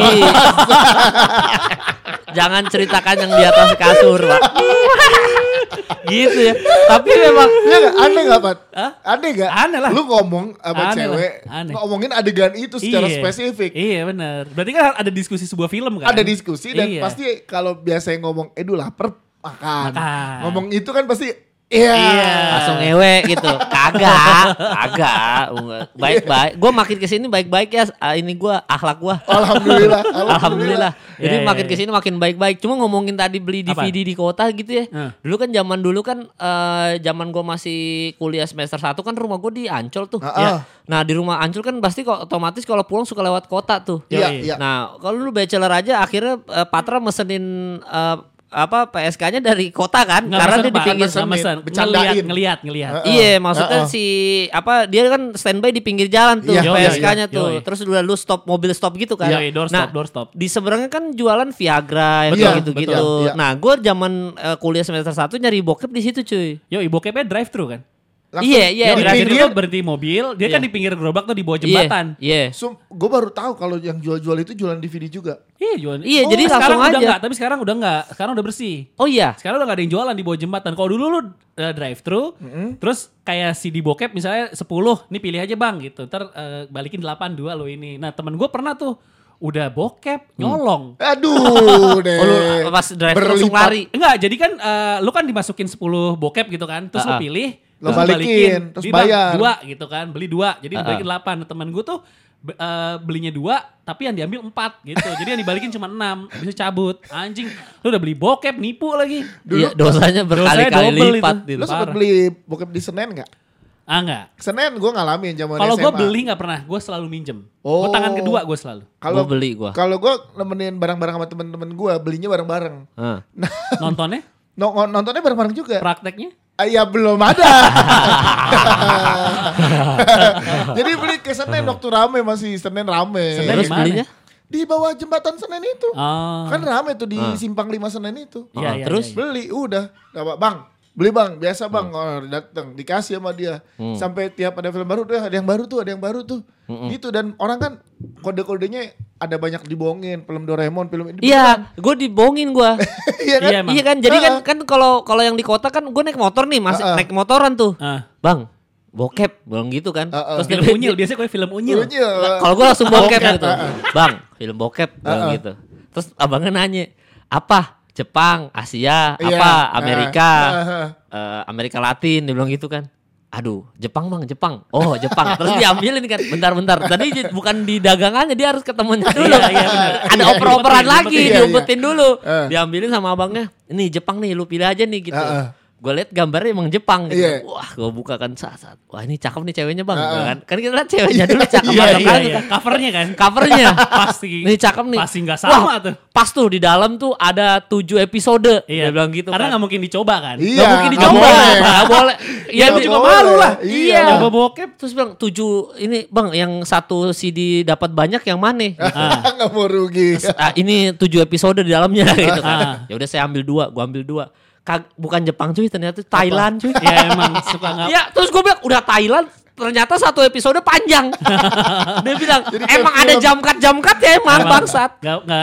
Jangan ceritakan yang di atas kasur, Pak. Gitu ya. Tapi memang Iya gak? Aneh gak, Pat? Aneh gak? Aneh lah. Lu ngomong sama Aneh cewek, lah. Aneh. ngomongin adegan itu secara spesifik. Iya benar. Berarti kan ada diskusi sebuah film kan? Ada diskusi dan Iya. pasti kalau biasanya ngomong, Edu lapar, makan. Makan. Ngomong itu kan pasti, iya. langsung ngewe gitu. Kagak. Baik-baik. Gue makin kesini baik-baik ya. Ini gue akhlak gue. Alhamdulillah. Alhamdulillah. Jadi Iya, makin iya. kesini makin baik-baik. Cuma ngomongin tadi beli Apa? DVD di kota gitu ya. Dulu kan zaman zaman gue masih kuliah semester 1 kan rumah gue di Ancol tuh. Ah. Nah di rumah Ancol kan pasti otomatis kalau pulang suka lewat kota tuh. Iya, Yoi. iya. Nah kalau lu bachelor aja akhirnya Patra mesenin PSK-nya dari kota kan. Nggak Karena mesen, dia di Pak. pinggir. Nggak mesen. Bercandain. Ngeliat. Iya maksudnya dia kan standby di pinggir jalan tuh Iya, PSK-nya iya, tuh. iya. Terus udah lu stop mobil stop gitu kan. Iya, doorstop. Di seberangnya kan jualan Viagra Betul, gitu-gitu. betul, iya. Nah gue zaman kuliah semester 1 nyari bokep di situ cuy. Yo, ibu bokepnya drive thru kan? Langsung Iya, Di drive pinggir pinggir. tuh berhenti mobil, dia kan Iya. di pinggir gerobak tuh di bawah jembatan. Iya. Gue baru tahu kalau yang jual-jual itu jualan DVD juga. Iya, jualan. Iya, jadi sekarang langsung udah aja. enggak, tapi sekarang udah enggak. Sekarang udah bersih. Oh iya. Sekarang udah gak ada yang jualan di bawah jembatan. Kalau dulu lu drive thru, terus kayak CD bokep misalnya 10, nih pilih aja bang gitu. Ntar balikin 8 2 lo ini. Nah temen gue pernah tuh udah bokep nyolong. Aduh deh. Oh, lu pas drive langsung Berlipat. lari. Enggak, jadi kan lu kan dimasukin 10 bokep gitu kan. Terus lu pilih, Lo terus lu balikin, terus Jadi, Bang, bayar. 2 gitu kan, beli 2. Jadi dibalikin 8. Nah, temen gue tuh belinya 2 tapi yang diambil 4 gitu. Jadi yang dibalikin cuma 6, bisa cabut. Anjing, lu udah beli bokep, nipu lagi. Iya dosanya berkali-kali double lipat itu. gitu. Lo sempet Parah. beli bokep di Senen gak? Ah enggak. Senen gue ngalamin zaman SMA. Kalau gue beli nggak pernah, gue selalu minjem. Oh. Tangan kedua gue selalu. Kalau Gua beli gua. Kalau gue nemenin barang-barang sama temen-temen gue, belinya bareng-bareng. Hah. Nontonnya, Nontonnya bareng-bareng juga. prakteknya. Ya belum ada. Jadi beli ke Senen waktu rame, masih Senen rame. Senen Terus di mana? belinya? Di bawah jembatan Senen itu. Oh. Kan rame tuh di Simpang 5 Senen itu. Iya, iya, terus? iya. Beli udah. Dapat bang. Beli bang, biasa bang. Oh, datang dikasih sama dia. Sampai tiap ada film baru tuh ada yang baru tuh. Gitu dan orang kan kode-kodenya ada banyak dibohongin. Film Doraemon, film ini. Iya, gue dibohongin gue. Iya kan? Iya, emang. Iya kan, jadi kan kalau yang di kota kan gue naik motor nih, masih naik motoran tuh. Bang, bokep, bilang gitu kan. Terus Film dia unyil, biasanya gue film unyil. Unyil. kalau gue langsung bokep Bokep, gitu. Bang, film bokep, bilang gitu. Terus abangnya nanya, apa? Jepang, Asia, Iya. apa? Amerika, Heeh. Amerika Latin, dia bilang gitu kan. Aduh, Jepang bang, Jepang. Oh Jepang. Terus diambilin kan, bentar. Tadi bukan di dagangannya, dia harus ketemunya dulu. Iya, benar. Ada Iya, oper-operan diumpetin, lagi, diumpetin. diumpetin dulu. Diambilin Diambilin sama abangnya. Ini Jepang nih, lu pilih aja nih gitu. Gue liat gambarnya emang Jepang gitu. Iya. Wah, gue buka kan saat. Wah ini cakep nih ceweknya bang. Kan kita liat ceweknya dulu cakep Iya, atau iya, kan. iya. Covernya kan. Covernya. Pasti. Nih cakep nih. Pasti nggak sama Wah, tuh. Pas tuh di dalam tuh ada 7 episode. Iya. Dia bilang gitu Karena kan. nggak mungkin dicoba kan. Iya. Gak mungkin nggak dicoba. boleh. Gak boleh. Ya Iya, lu dia- juga malu lah. Iya. Nyoba bokep. Terus bilang 7 ini bang yang satu CD dapat banyak yang mana? Nggak mau rugi. Ini 7 episode di dalamnya gitu kan. Ya udah saya ambil 2, gua ambil 2. bukan Jepang cuy, ternyata Thailand cuy. Ya emang suka nggak. Ya terus gue bilang udah Thailand, ternyata satu episode panjang. Dia bilang emang ada jam-cut ya emang bangsat.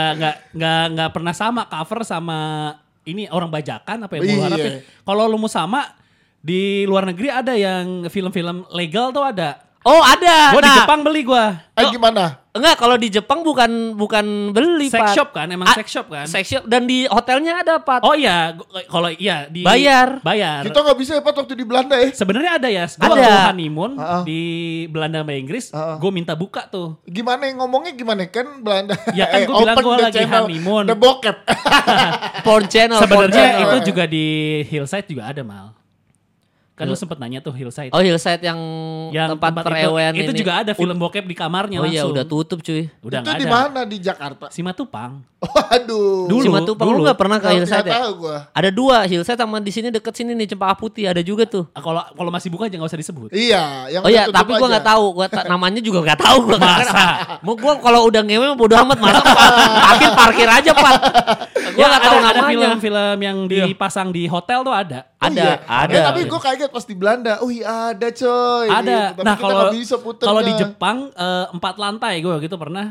Nggak pernah sama cover sama ini orang bajakan apa yang mau harapin. Kalau lu mau sama di luar negeri ada yang film-film legal tuh ada. Oh ada. Gue di Jepang beli gue. Gimana? Enggak, kalau di Jepang bukan beli sex Pat. shop kan, emang sex shop kan. Sex shop dan di hotelnya ada Pat. Oh iya, kalau iya di Bayar. Kita nggak bisa ya Pat waktu di Belanda ya. Sebenarnya ada ya. Gue waktu honeymoon di Belanda sama Inggris, gue minta buka tuh. Gimana ngomongnya gimana kan Belanda? Ya kan gue bilang gue lagi honeymoon. The bokep. Porn channel. Sebenarnya itu juga di Hillside juga ada Mal. Kan lu sempet nanya tuh Hillside. Oh Hillside yang tempat perewean itu ini. juga ada film bokep di kamarnya langsung. langsung. Oh iya udah tutup cuy. Udah itu ada. di mana di Jakarta? Simatupang. Waduh. Dulu. Simatupang lu gak pernah ke Hillside ya? Tahu gua. Ada 2 Hillside sama di sini deket sini nih Cempaka Putih ada juga tuh. Kalau masih buka aja gak usah disebut. Iya, yang Oh iya, tutup tapi gua aja. nggak tahu, namanya juga nggak tahu gua. Masa? Mau gua kalau udah ngewe bodo amat masa parkir aja Pak. Gua nggak tahu ada namanya. film-film yang dipasang di hotel tuh ada. Ada. Tapi gue kaget pas di Belanda. Ada coy. Ada. Gitu. Tapi Nah kita nggak bisa kalau di puternya. Jepang 4 lantai gue gitu pernah.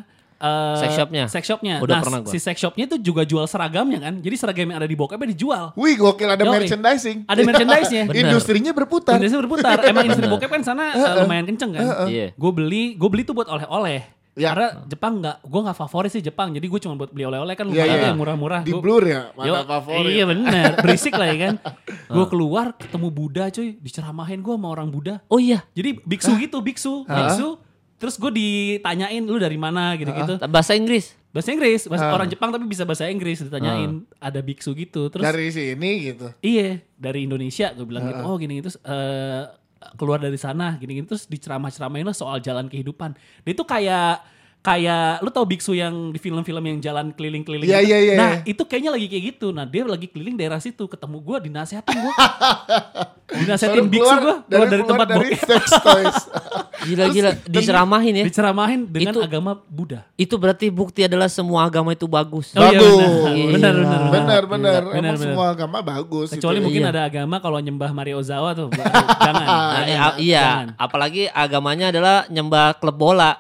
Sex shopnya. Nah Udah pernah gua. si sex shopnya itu juga jual seragamnya kan. Jadi seragam yang ada di bokepnya dijual. Wih gokil ada Yoi. merchandising. Ada merchandise-nya. Bener. Industrinya berputar. Indonesia berputar. Emang industri bokep kan sana lumayan kenceng kan. Iya. Gue beli tuh buat oleh-oleh. Ya. Karena Jepang gue nggak favorit sih Jepang. Jadi gue cuma buat beli oleh-oleh kan Iya, lumayan iya. yang murah-murah. Di Gua- blur ya, Yo, mana favorit. Iya bener, berisik lah ya kan. Gue keluar ketemu Buddha cuy, diceramahin gue sama orang Buddha. Oh iya. Jadi biksu gitu, biksu. Terus gue ditanyain lu dari mana gitu-gitu. Bahasa Inggris. Bahasa Inggris, orang Jepang tapi bisa bahasa Inggris ditanyain. Ada biksu gitu. Terus Dari sini gitu. iya dari Indonesia gue bilang gitu. Oh gini terus keluar dari sana gini-gini terus diceramah-ceramahin lah soal jalan kehidupan. Dia itu kayak lu tau biksu yang di film-film yang jalan keliling-keliling Iya, gitu. iya, iya. Nah itu kayaknya lagi kayak gitu. Nah dia lagi keliling daerah situ ketemu gue dinasehatin gue. Dinasehatin biksu gue keluar dari tempat dari bokep. sex toys. Gila diceramahin ya. Diceramahin dengan Itu- agama Buddha. Itu berarti bukti adalah semua agama itu bagus. Oh, iya, Bagus. benar. Benar. Benar, Emang benar. semua agama bagus. Kecuali gitu. mungkin Iya. ada agama kalau nyembah Mario Ozawa tuh. Jangan. Nah, iya, Jangan. apalagi agamanya adalah nyembah klub bola.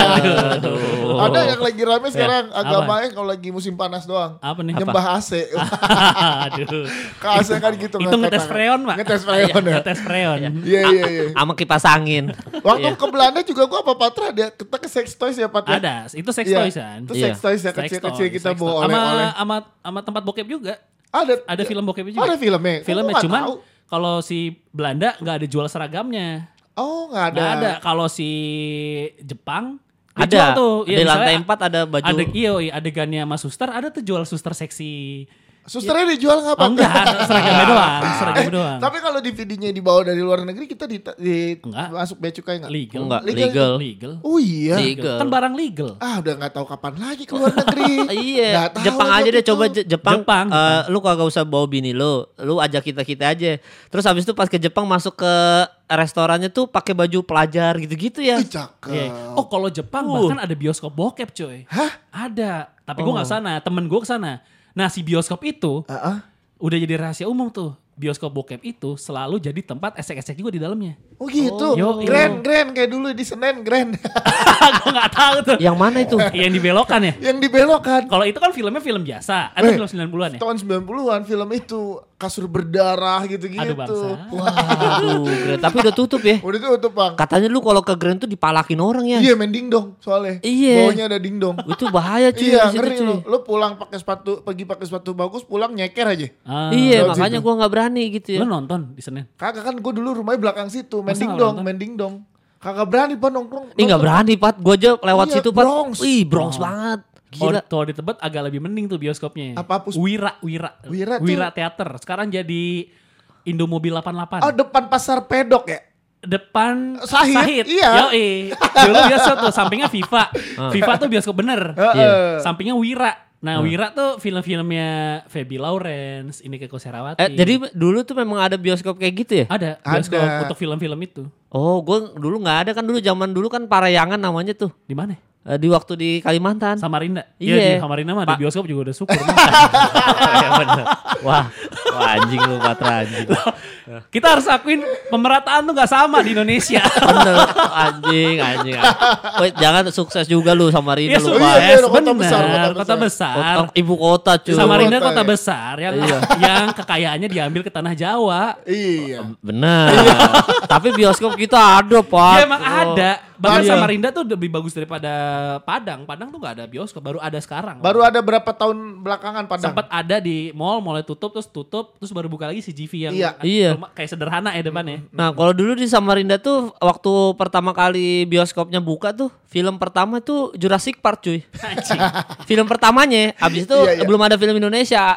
Aduh. Ada yang lagi rame sekarang Apa? agamanya kalau lagi musim panas doang. Apa nih? Nyembah AC. Aduh. Ke AC kan gitu. Itu ngangkat ngetes tangan. freon, Pak. Ngetes freon ya. Ngetes freon. Iya. Sama kipas angin. Waktu ke Belanda juga gua apa Patra ada kita ke sex toys ya Pat ya? Ada, itu sex Iya. toys kan. Itu Iya. sex toys ya Sex kecil-kecil toys, kita sex bawa toys. oleh-oleh. Sama tempat bokep juga. Ada Film bokepnya juga. Ada filmnya. Filmnya Gua nggak cuman tahu. kalau si Belanda nggak ada jual seragamnya. Oh nggak ada. Nggak ada. Kalau si Jepang dia Ada. jual tuh. Di lantai 4 ada baju. Ada iya adegannya sama suster, ada tuh jual suster seksi. Susternya dijual nggak Pak? Oh, enggak, seragamnya doang. Tapi kalau DVD-nya dibawa dari luar negeri kita Enggak. masuk bea cukai nggak? Legal. Enggak, Legal. Legal. Oh iya. Legal. Kan barang legal. Udah nggak tahu kapan lagi ke luar negeri. Iya, Nggak tahu Jepang aja aja deh gitu. coba Jepang. Jepang. Lu kagak usah bawa bini lu ajak kita aja. Terus habis itu pas ke Jepang masuk ke restorannya tuh pakai baju pelajar gitu-gitu ya. Ih, cakep. Iya. Oh kalau Jepang bahkan ada bioskop bokep coy. Hah? Ada. Tapi gue gak sana, temen gue kesana. Nah si bioskop itu udah jadi rahasia umum tuh. Bioskop bokep itu selalu jadi tempat esek-esek juga di dalamnya. Oh gitu. Yo, Grand kayak dulu di Senen Grand. Gue gak tahu tuh. Yang mana itu? Yang dibelokkan ya. Yang dibelokkan. Kalau itu kan filmnya film biasa. Ada film 90-an ya. Tahun 90-an film itu kasur berdarah gitu-gitu. Aduh bangsa. Waduh, Grand. Tapi udah tutup ya. Udah tutup Bang. Katanya lu kalau ke Grand tuh dipalakin orang ya. Iya main dingdong soalnya. Iya. Bawahnya ada dingdong. Itu bahaya cuy. Iya di situ, ngeri cuy. lu. Lu pulang pakai sepatu, pergi pakai sepatu bagus, pulang nyeker aja. Ah. Iya, Lewat makanya situ. gua nggak berani gitu ya. Lu nonton di Senin? Kagak kan gue dulu rumahnya belakang situ, main Masa nggak dingdong, nonton? main dingdong. Kagak berani Pak nongkrong. Ih nggak berani Pat, gua aja lewat Iya, situ Pat. Bronx. Wih Bronx banget. Gila. Kalau di Tebet agak lebih mending tuh bioskopnya. Apa, Pus? Wira Wira tuh- Theater. Sekarang jadi Indomobil 88. Oh depan pasar pedok ya? Depan Sahid, iya. Yoi. Dulu bioskop tuh sampingnya Viva. Viva tuh bioskop bener. Heeh. Sampingnya Wira. Nah Wira tuh film-filmnya Feby Lawrence, ini Keko Serawati. Jadi dulu tuh memang ada bioskop kayak gitu ya? ada bioskop Ada. untuk film-film itu. Oh, gua dulu nggak ada kan dulu zaman dulu kan Parayangan namanya tuh. Di mana? Di waktu di Kalimantan. Samarinda. Iya. Iya di Samarinda mah ada bioskop juga udah syukur. Iya bener. Wah, Anjing lu Patra anjing. Kita harus akuin pemerataan tuh gak sama di Indonesia. Bener anjing. Wait, jangan sukses juga lu Samarinda Ya lu. Oh, sukses, iya, kota bener. besar, Kota besar. Ibu kota cuy. Samarinda Kota, kota ya. besar yang kekayaannya diambil ke tanah Jawa. Iya. Bener. Tapi bioskop kita ada Pak. Ya emang ada. Bahkan Iya. Samarinda tuh lebih bagus daripada Padang. Padang tuh gak ada bioskop, baru ada sekarang. Baru ada berapa tahun belakangan Padang? Sempat ada di mall, mulai tutup, terus baru buka lagi CGV yang Iya. kayak sederhana ya depannya. Nah kalau dulu di Samarinda tuh waktu pertama kali bioskopnya buka tuh film pertama tuh Jurassic Park cuy. Anjing. Film pertamanya, abis itu Iya. belum ada film Indonesia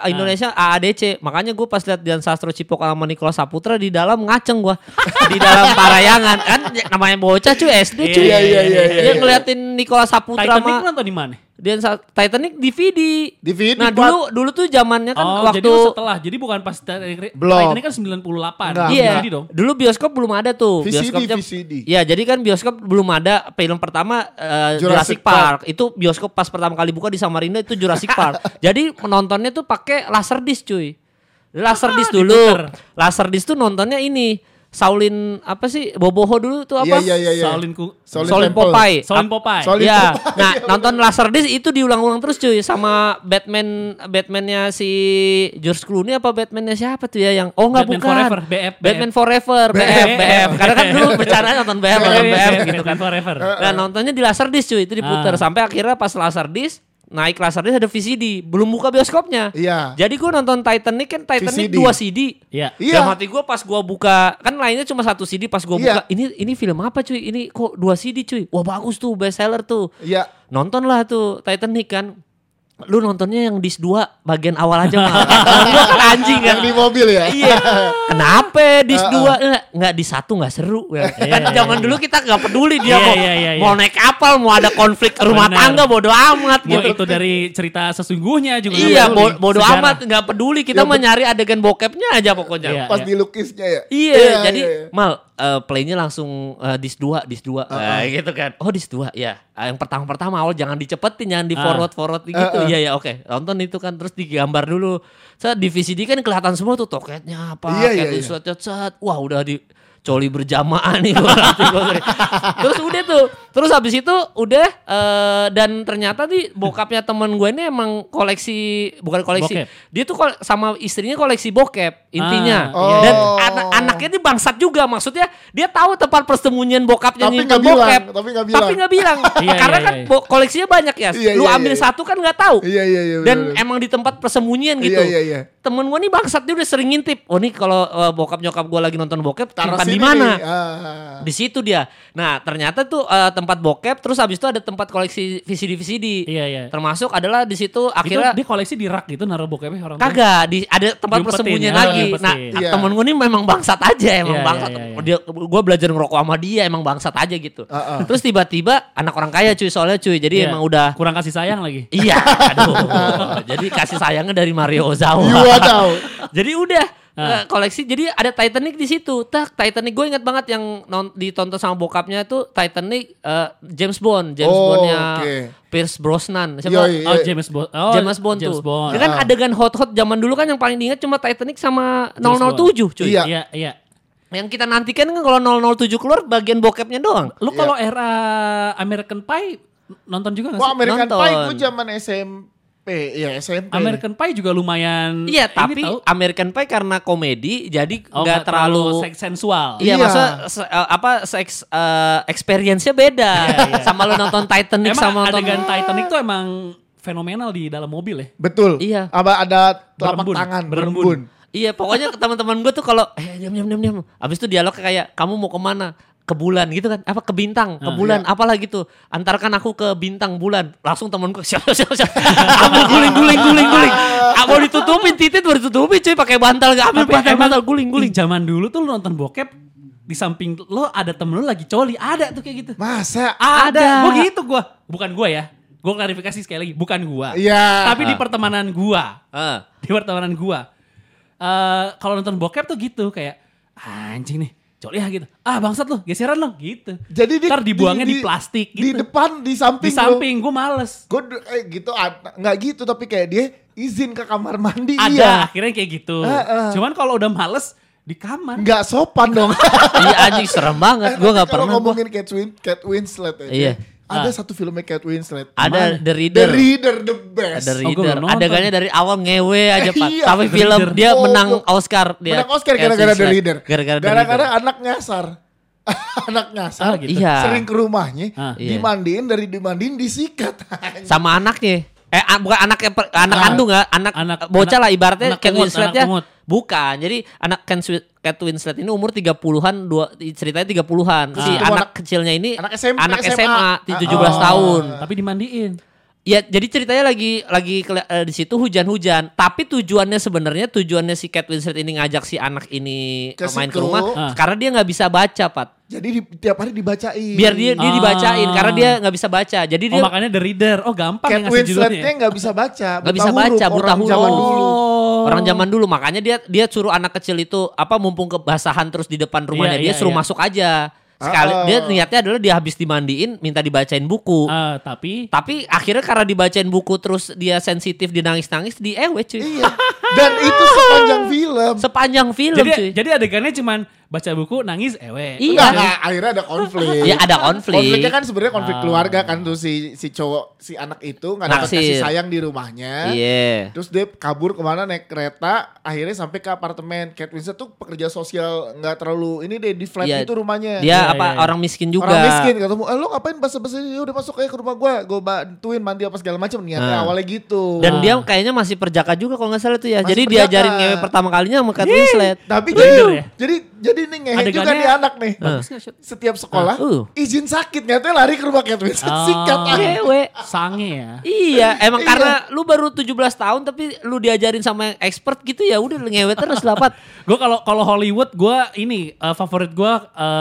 AADC. Makanya gue pas lihat Dian Sastro Cipok sama Nicholas Saputra di dalam ngaceng gue di dalam parayangan kan namanya bocah cuy SD cuy. Iya. Dia ngeliatin Nicholas Saputra Titanic sama nonton di mana? Titanic DVD. DVD, Nah Pak. dulu tuh zamannya kan Oh, waktu jadi lu setelah. Jadi bukan pas Belum. Titanic kan 98. Enggak. Iya, Jadi dong. dulu bioskop belum ada tuh. Bioskopnya, VCD. Iya, jadi kan bioskop belum ada. Film pertama Jurassic Jurassic Park. Itu bioskop pas pertama kali buka di Samarinda itu Jurassic Park. Jadi menontonnya tuh pakai laserdisc cuy. Laserdisc dulu. diputer. Laserdisc tuh nontonnya ini. Shaolin apa sih? Boboho dulu tuh apa? Iya. Shaolin Temple. Popeye. Shaolin Popeye. Shaolin Iya. Popeye. Nah, nonton Laserdisc itu diulang-ulang terus cuy sama Batman-nya si George Clooney apa Batman-nya siapa tuh ya yang Batman bukan. Forever, BF. Batman Forever, BF. Karena kan dulu bercanda nonton BF gitu kan. Forever. Nah, nontonnya di Laserdisc cuy, itu diputer sampai akhirnya pas Laserdisc naik Laserdisc ada VCD, belum buka bioskopnya. Iya. Jadi gue nonton Titanic kan Titanic VCD. 2 CD. Iya. Iya. Dalam hati gue pas gue buka kan lainnya cuma 1 CD pas gue Iya. buka ini film apa cuy? Ini kok 2 CD cuy? Wah bagus tuh best seller tuh. Iya. Nonton lah tuh Titanic kan. Lu nontonnya yang disc 2 bagian awal aja mah. Gua kan anjing kan. Yang di mobil ya. Iya. Kenapa disc 2 enggak di 1 enggak seru ya. Kan zaman dulu kita enggak peduli dia mau naik kapal, mau ada konflik rumah Benar. tangga bodo amat Mau gitu. itu dari cerita sesungguhnya juga. Iya, nggak peduli. bodo Sejarah. amat enggak peduli kita Ya, mah nyari adegan bokepnya aja pokoknya. Iya. Pas dilukisnya ya. Iya, jadi iya. Mal playnya langsung disc 2 gitu kan. Oh disc 2 ya. Yang pertama awal jangan dicepetin, jangan di forward gitu. Iya ya oke. Nonton itu kan terus digambar dulu. Saya di VCD kan kelihatan semua tuh toketnya apa, Iya. set. Wah udah di coli berjamaah nih gua. Terus udah tuh. Terus habis itu udah dan ternyata nih bokapnya temen gue ini emang bukan koleksi. Bokep. Dia tuh sama istrinya koleksi bokep intinya. Ah, Dan oh. anaknya ini bangsat juga. Maksudnya dia tahu tempat persembunyian bokapnya Tapi nyimpen nggak bilang, bokep. tapi nggak bilang. Iya, Karena iya, kan iya. koleksinya banyak ya. Iya, Lu iya, ambil iya. satu kan nggak tahu. Iya. Dan bener. emang di tempat persembunyian gitu. Iya. Temen gue nih bangsat dia udah sering ngintip. Oh nih kalau bokap nyokap gue lagi nonton bokep Taruh simpan di sini mana? nih. Di situ dia. Nah ternyata tuh tempat bokep. Terus habis itu ada tempat koleksi VCD. Iya. Termasuk adalah di situ Itu akhirnya dia koleksi di rak gitu naruh bokepnya orang tua. kagak ada tempat Diumpetin persembunyian ya, lagi. diumpetin. Nah Iya. temen gue nih memang bangsat aja emang Iya, bangsat. iya. Gue belajar ngerokok sama dia emang bangsat aja gitu. Heeh. Terus tiba-tiba anak orang kaya cuy soalnya cuy. Jadi Iya. emang udah Kurang kasih sayang lagi. iya. Aduh. Jadi kasih sayangnya dari Mario Ozawa. Iya tahu. Jadi udah koleksi. Jadi ada Titanic di situ. Titanic gue ingat banget yang ditonton sama bokapnya tuh Titanic James Bond. Bondnya oke. Pierce Brosnan. Siapa? Yoi. Oh James Bond. Oh, James Bond tuh. Bond. Ya kan adegan hot-hot zaman dulu kan yang paling diingat cuma Titanic sama 007 cuy. Iya. Iya. Yang kita nantikan kan kalau 007 keluar bagian bokepnya doang. Lu kalau era American Pie nonton juga gak sih? Wah American Nonton. Pie gue zaman SMP. Iya SMP. American Pie juga lumayan. Iya, ini tapi tahu. American Pie karena komedi jadi Oh, nggak terlalu seks sensual. Iya, Iya. maksudnya seks experience-nya beda. Sama lu nonton Titanic Emang sama nonton adegan Titanic tuh emang fenomenal di dalam mobil ya. Betul. Iya. Ada telapak Berembun. tangan Berembun. berembun. Iya, pokoknya teman-teman gue tuh kalau diam. Habis itu dialog kayak kamu mau kemana? Ke bulan gitu kan, apa ke bintang, ke bulan, apalah gitu. Antarkan aku ke bintang bulan. Langsung temanku siap. Ambil guling. Mau ditutupin titit baru ditutupin cuy pakai bantal gak ambil pakai bantal guling. Di zaman dulu tuh lu nonton bokep di samping lo ada temen lu lagi coli, ada tuh kayak gitu. Masa? Ada. Gua gitu bukan gua ya. Gua klarifikasi sekali lagi, bukan gua. Iya. Tapi di pertemanan gua. Ah. Di pertemanan gua. Kalau nonton bokep tuh gitu kayak anjing nih. Coli ya gitu. Ah bangsat lu, geseran lo gitu. Jadi ntar dibuangnya di plastik gitu. Di depan, di samping. Di samping, gue males. Gue gitu, nggak gitu tapi kayak dia izin ke kamar mandi. Ada, akhirnya kayak gitu. Cuman kalau udah males di kamar. Nggak sopan dong. Iya anjing serem banget. Gue nggak pernah. Kalau ngomongin Kate Winslet aja. Iya. Ada satu filmnya Kate Winslet. Ada Mana? The Reader. The Reader the best. The Oh, Reader. gua nonton. Adegannya dari awal ngewe aja Pak. Iya. Tapi The film Reader. dia Oh, menang gua- Oscar. Dia. Menang Oscar Kate gara-gara The Winslet. Reader. Gara-gara anak nyasar. Anak nyasar. gitu. Iya. Sering ke rumahnya, Iya. dimandiin disikat. Sama anaknya. Bukan anaknya, anak kandung nggak, anak bocah lah ibaratnya anak Kate pungut, Winsletnya. anak pungut. Bukan, jadi anak Kate Winslet ini umur 30-an, ceritanya 30-an. Si Itu anak kecilnya ini anak SMP, anak SMA. SMA, 17 tahun. Tapi dimandiin. Ya, jadi ceritanya lagi di situ hujan-hujan. Tapi tujuannya si Kate Winslet ini ngajak si anak ini Ke main ke situ. rumah karena dia nggak bisa baca, Pat. Jadi tiap hari dibacain. Biar dia dibacain karena dia nggak bisa baca. Jadi dia makanya The Reader. Oh gampang Kate ya ngasih judulnya. Winsletnya nggak bisa baca. Nggak bisa baca, buta orang huruf. zaman dulu. Orang zaman dulu, makanya dia suruh anak kecil itu mumpung kebasahan terus di depan rumahnya dia suruh masuk aja. Sekali dia niatnya adalah dia habis dimandiin minta dibacain buku. Tapi akhirnya karena dibacain buku terus dia sensitif, dia nangis-nangis di cuy. Iya. Dan itu sepanjang film. Sepanjang film cuy. Jadi adegannya cuman baca buku nangis ewe. Iya. Enggak, akhirnya ada konflik. Ya ada konflik. Konfliknya kan sebenarnya konflik keluarga kan tuh si cowok si anak itu nggak dapat Naksir. kasih sayang di rumahnya. Iya. Terus dia kabur kemana naik kereta, akhirnya sampai ke apartemen. Kate Winslet tuh pekerja sosial nggak terlalu ini deh di flat Iya. itu rumahnya. Dia Iya. orang miskin juga. Orang miskin ketemu, lo ngapain basa-basi udah masuk aja ke rumah gue bantuin mandi apa segala macam niatnya awalnya gitu. Dan dia kayaknya masih perjaka juga kalau nggak salah tuh ya. Masih Jadi perjaka. diajarin ngewe pertama kalinya sama Kate Winslet. Tapi Bener ya? jadi nih ngehe juga Adegannya nih anak nih. bagus nggak, Shot? Setiap sekolah izin sakit nyatanya lari ke rumah Kate Winslet Oh. sikat aja. Ngewe. Sange ya. Iya, emang Iya. karena lu baru 17 tahun tapi lu diajarin sama yang expert gitu ya udah ngewe terus dapat. Gue kalau Hollywood gue ini favorit gue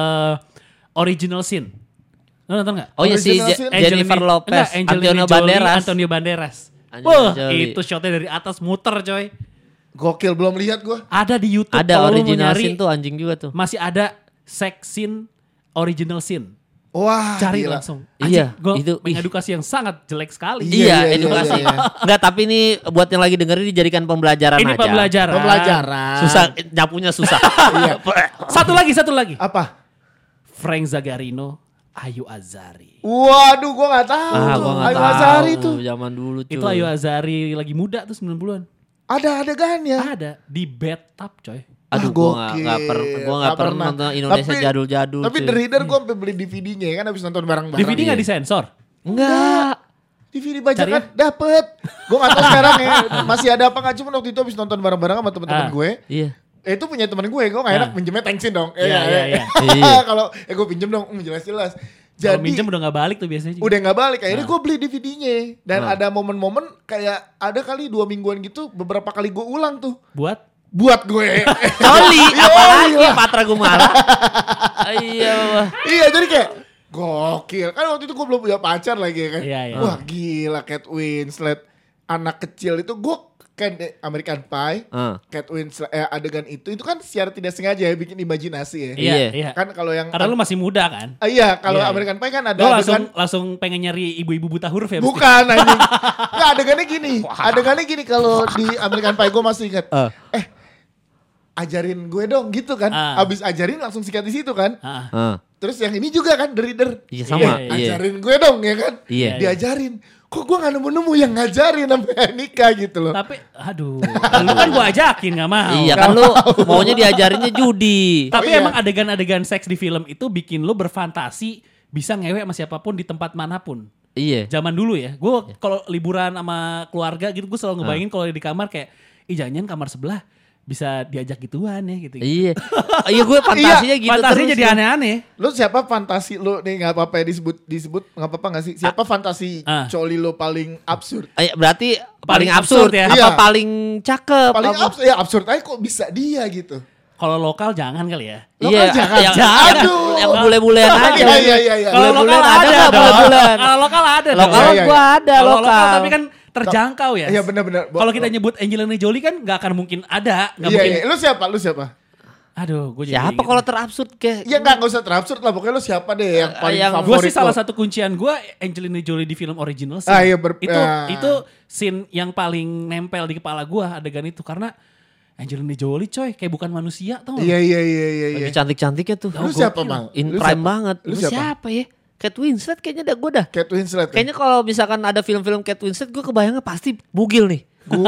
original scene. Lo nonton gak? Oh iya si Original scene. Jennifer Lopez, Antonio Banderas. Antonio Banderas. Angelina Wah Jolie. itu shotnya dari atas muter coy. Gokil belum lihat gue. Ada di YouTube. Ada kalau lu mau original nyari, scene tuh anjing juga tuh. masih ada sex scene original scene. Wah Cari gila. langsung. Iya, Gue itu, ih. edukasi yang sangat jelek sekali. Iya, Iya, edukasi. iya, iya. Enggak, tapi ini buat yang lagi dengerin dijadikan pembelajaran Ini aja. pembelajaran. Pembelajaran. Susah nyapunya susah. Iya. Satu lagi. Apa? Frank Zagarino, Ayu Azari. Waduh gue gak tahu. Gua nggak Ayu tahu. Azari tuh. Zaman dulu tuh. Itu Ayu Azari lagi muda tuh 90-an. Ada adegannya. Ada di bathtub coy. Aduh, gokil. gua nggak pernah nonton Indonesia jadul-jadul. Tapi cuy. The Reader gue sampai beli DVD-nya kan habis nonton bareng-bareng. DVD nggak disensor? Enggak. DVD bajakan Cari ya? dapet. Gue gak tahu sekarang ya masih ada apa gak. Cuma waktu itu habis nonton bareng-bareng sama teman-teman gue. Iya. Itu punya teman gue gak enak pinjemnya thanksin dong. Iya. Kalau gue pinjem dong, jelas-jelas. Kalau Jadi minjem udah gak balik tuh biasanya. udah gak balik, akhirnya gue beli DVD-nya. Dan ada momen-momen kayak ada kali 2 mingguan gitu, beberapa kali gue ulang tuh. Buat gue. Oli, apalagi lah. Patra Gumala. Iya. Iya jadi kayak gokil. Kan waktu itu gue belum punya pacar lagi kan. Iya. Wah gila Kate Winslet. Anak kecil itu gue kan American Pie. Kate Winslet adegan itu kan secara tidak sengaja ya bikin imajinasi ya. Iya. Kan kalau yang Karena lu masih muda kan. Iya kalau Iya. American Pie kan ada Lu adegan. langsung pengen nyari ibu-ibu buta huruf ya? Bukan anjing. Nggak, adegannya gini kalau di American Pie gue masih ingat. Ajarin gue dong gitu kan. Abis ajarin langsung sikat di situ kan. Terus yang ini juga kan The Reader. Iya sama. Ajarin gue dong ya kan. Iya. Diajarin. Kok gue gak nemu-nemu yang ngajarin sampai nikah gitu loh. Tapi aduh, lu kan gua ajakin gak mau. Iya kan lu maunya diajarinnya judi. Tapi iya. emang adegan-adegan seks di film itu bikin lu berfantasi bisa ngewe sama siapapun di tempat manapun. Iya. Zaman dulu ya, gue kalau liburan sama keluarga gitu gue selalu ngebayangin kalau di kamar kayak, jangan kamar sebelah bisa diajak gituan ya gitu. Iya. Iya gue fantasinya gitu Fantasinya terus. jadi aneh-aneh. Lu siapa fantasi lu nih gak apa-apa ya disebut gak apa-apa gak sih? Siapa fantasi coli lu paling absurd? Berarti paling Paling absurd absurd ya? Apa Iya. paling cakep? Paling apa? absurd, ya absurd aja kok bisa dia gitu. Kalau lokal jangan kali ya. Lokal jangan. Aduh. Yang bule-bulean aja. Iya. Kalau lokal Bule-bulean ada nggak dong. bule-bulean? Kalau lokal ada dong. Lokal Iya. gua ada Kalau lokal. tapi kan terjangkau ya. Iya benar-benar. Kalau kita nyebut Angelina Jolie kan nggak akan mungkin ada. Nggak Iya, mungkin. iya. Lu siapa? Aduh, gue jadi Siapa inget. kalau terabsurd kayak? Ya nggak usah terabsurd lah, pokoknya lu siapa deh yang paling yang- Gue favorit sih salah lo? satu kuncian gue Angelina Jolie di film original sih. Iya, Itu scene yang paling nempel di kepala gue adegan itu karena Angelina Jolie coy kayak bukan manusia tau. Iya. Lagi cantik-cantiknya tuh. Lu siapa, Mal? In Lu prime siapa? banget. Lu Lu siapa? siapa ya? Kate Winslet kayaknya gue dah. Kate Winslet. Kayaknya kalau misalkan ada film-film Kate Winslet gue kebayangnya pasti bugil nih.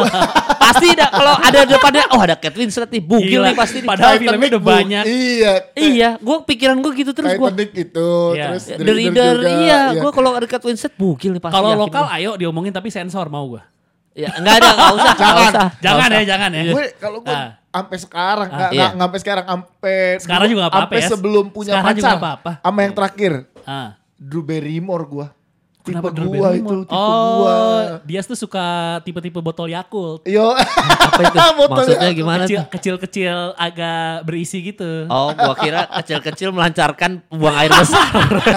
Pasti dah kalau ada depannya ada Kate Winslet nih bugil Gila. nih pasti nih. Padahal filmnya udah banyak. Iya. Iya, pikiran gue gitu terus gue. Titanic itu, Iya. terus The Reader, juga, iya. Gue kalau ada Kate Winslet bugil nih pasti. Kalau yakin lokal gua. ayo diomongin tapi sensor mau gue. Ya enggak ada, enggak usah. Jangan ya, jangan ya. Gue kalau gue Ah. sampai sekarang Iya. nggak sampai sekarang sampai Sekarang juga nggak apa-apa sampai ya. sebelum punya Sekarang juga pacar nggak apa-apa. sama yang terakhir Ah. Drew Barrymore gue tipe Kenapa Drew gua Barrymore? itu tipe gua dia tuh suka tipe-tipe botol Yakult. yo Apa itu? Maksudnya gimana tuh? Kecil-kecil agak berisi gitu. Oh, gua kira kecil-kecil melancarkan buang air besar.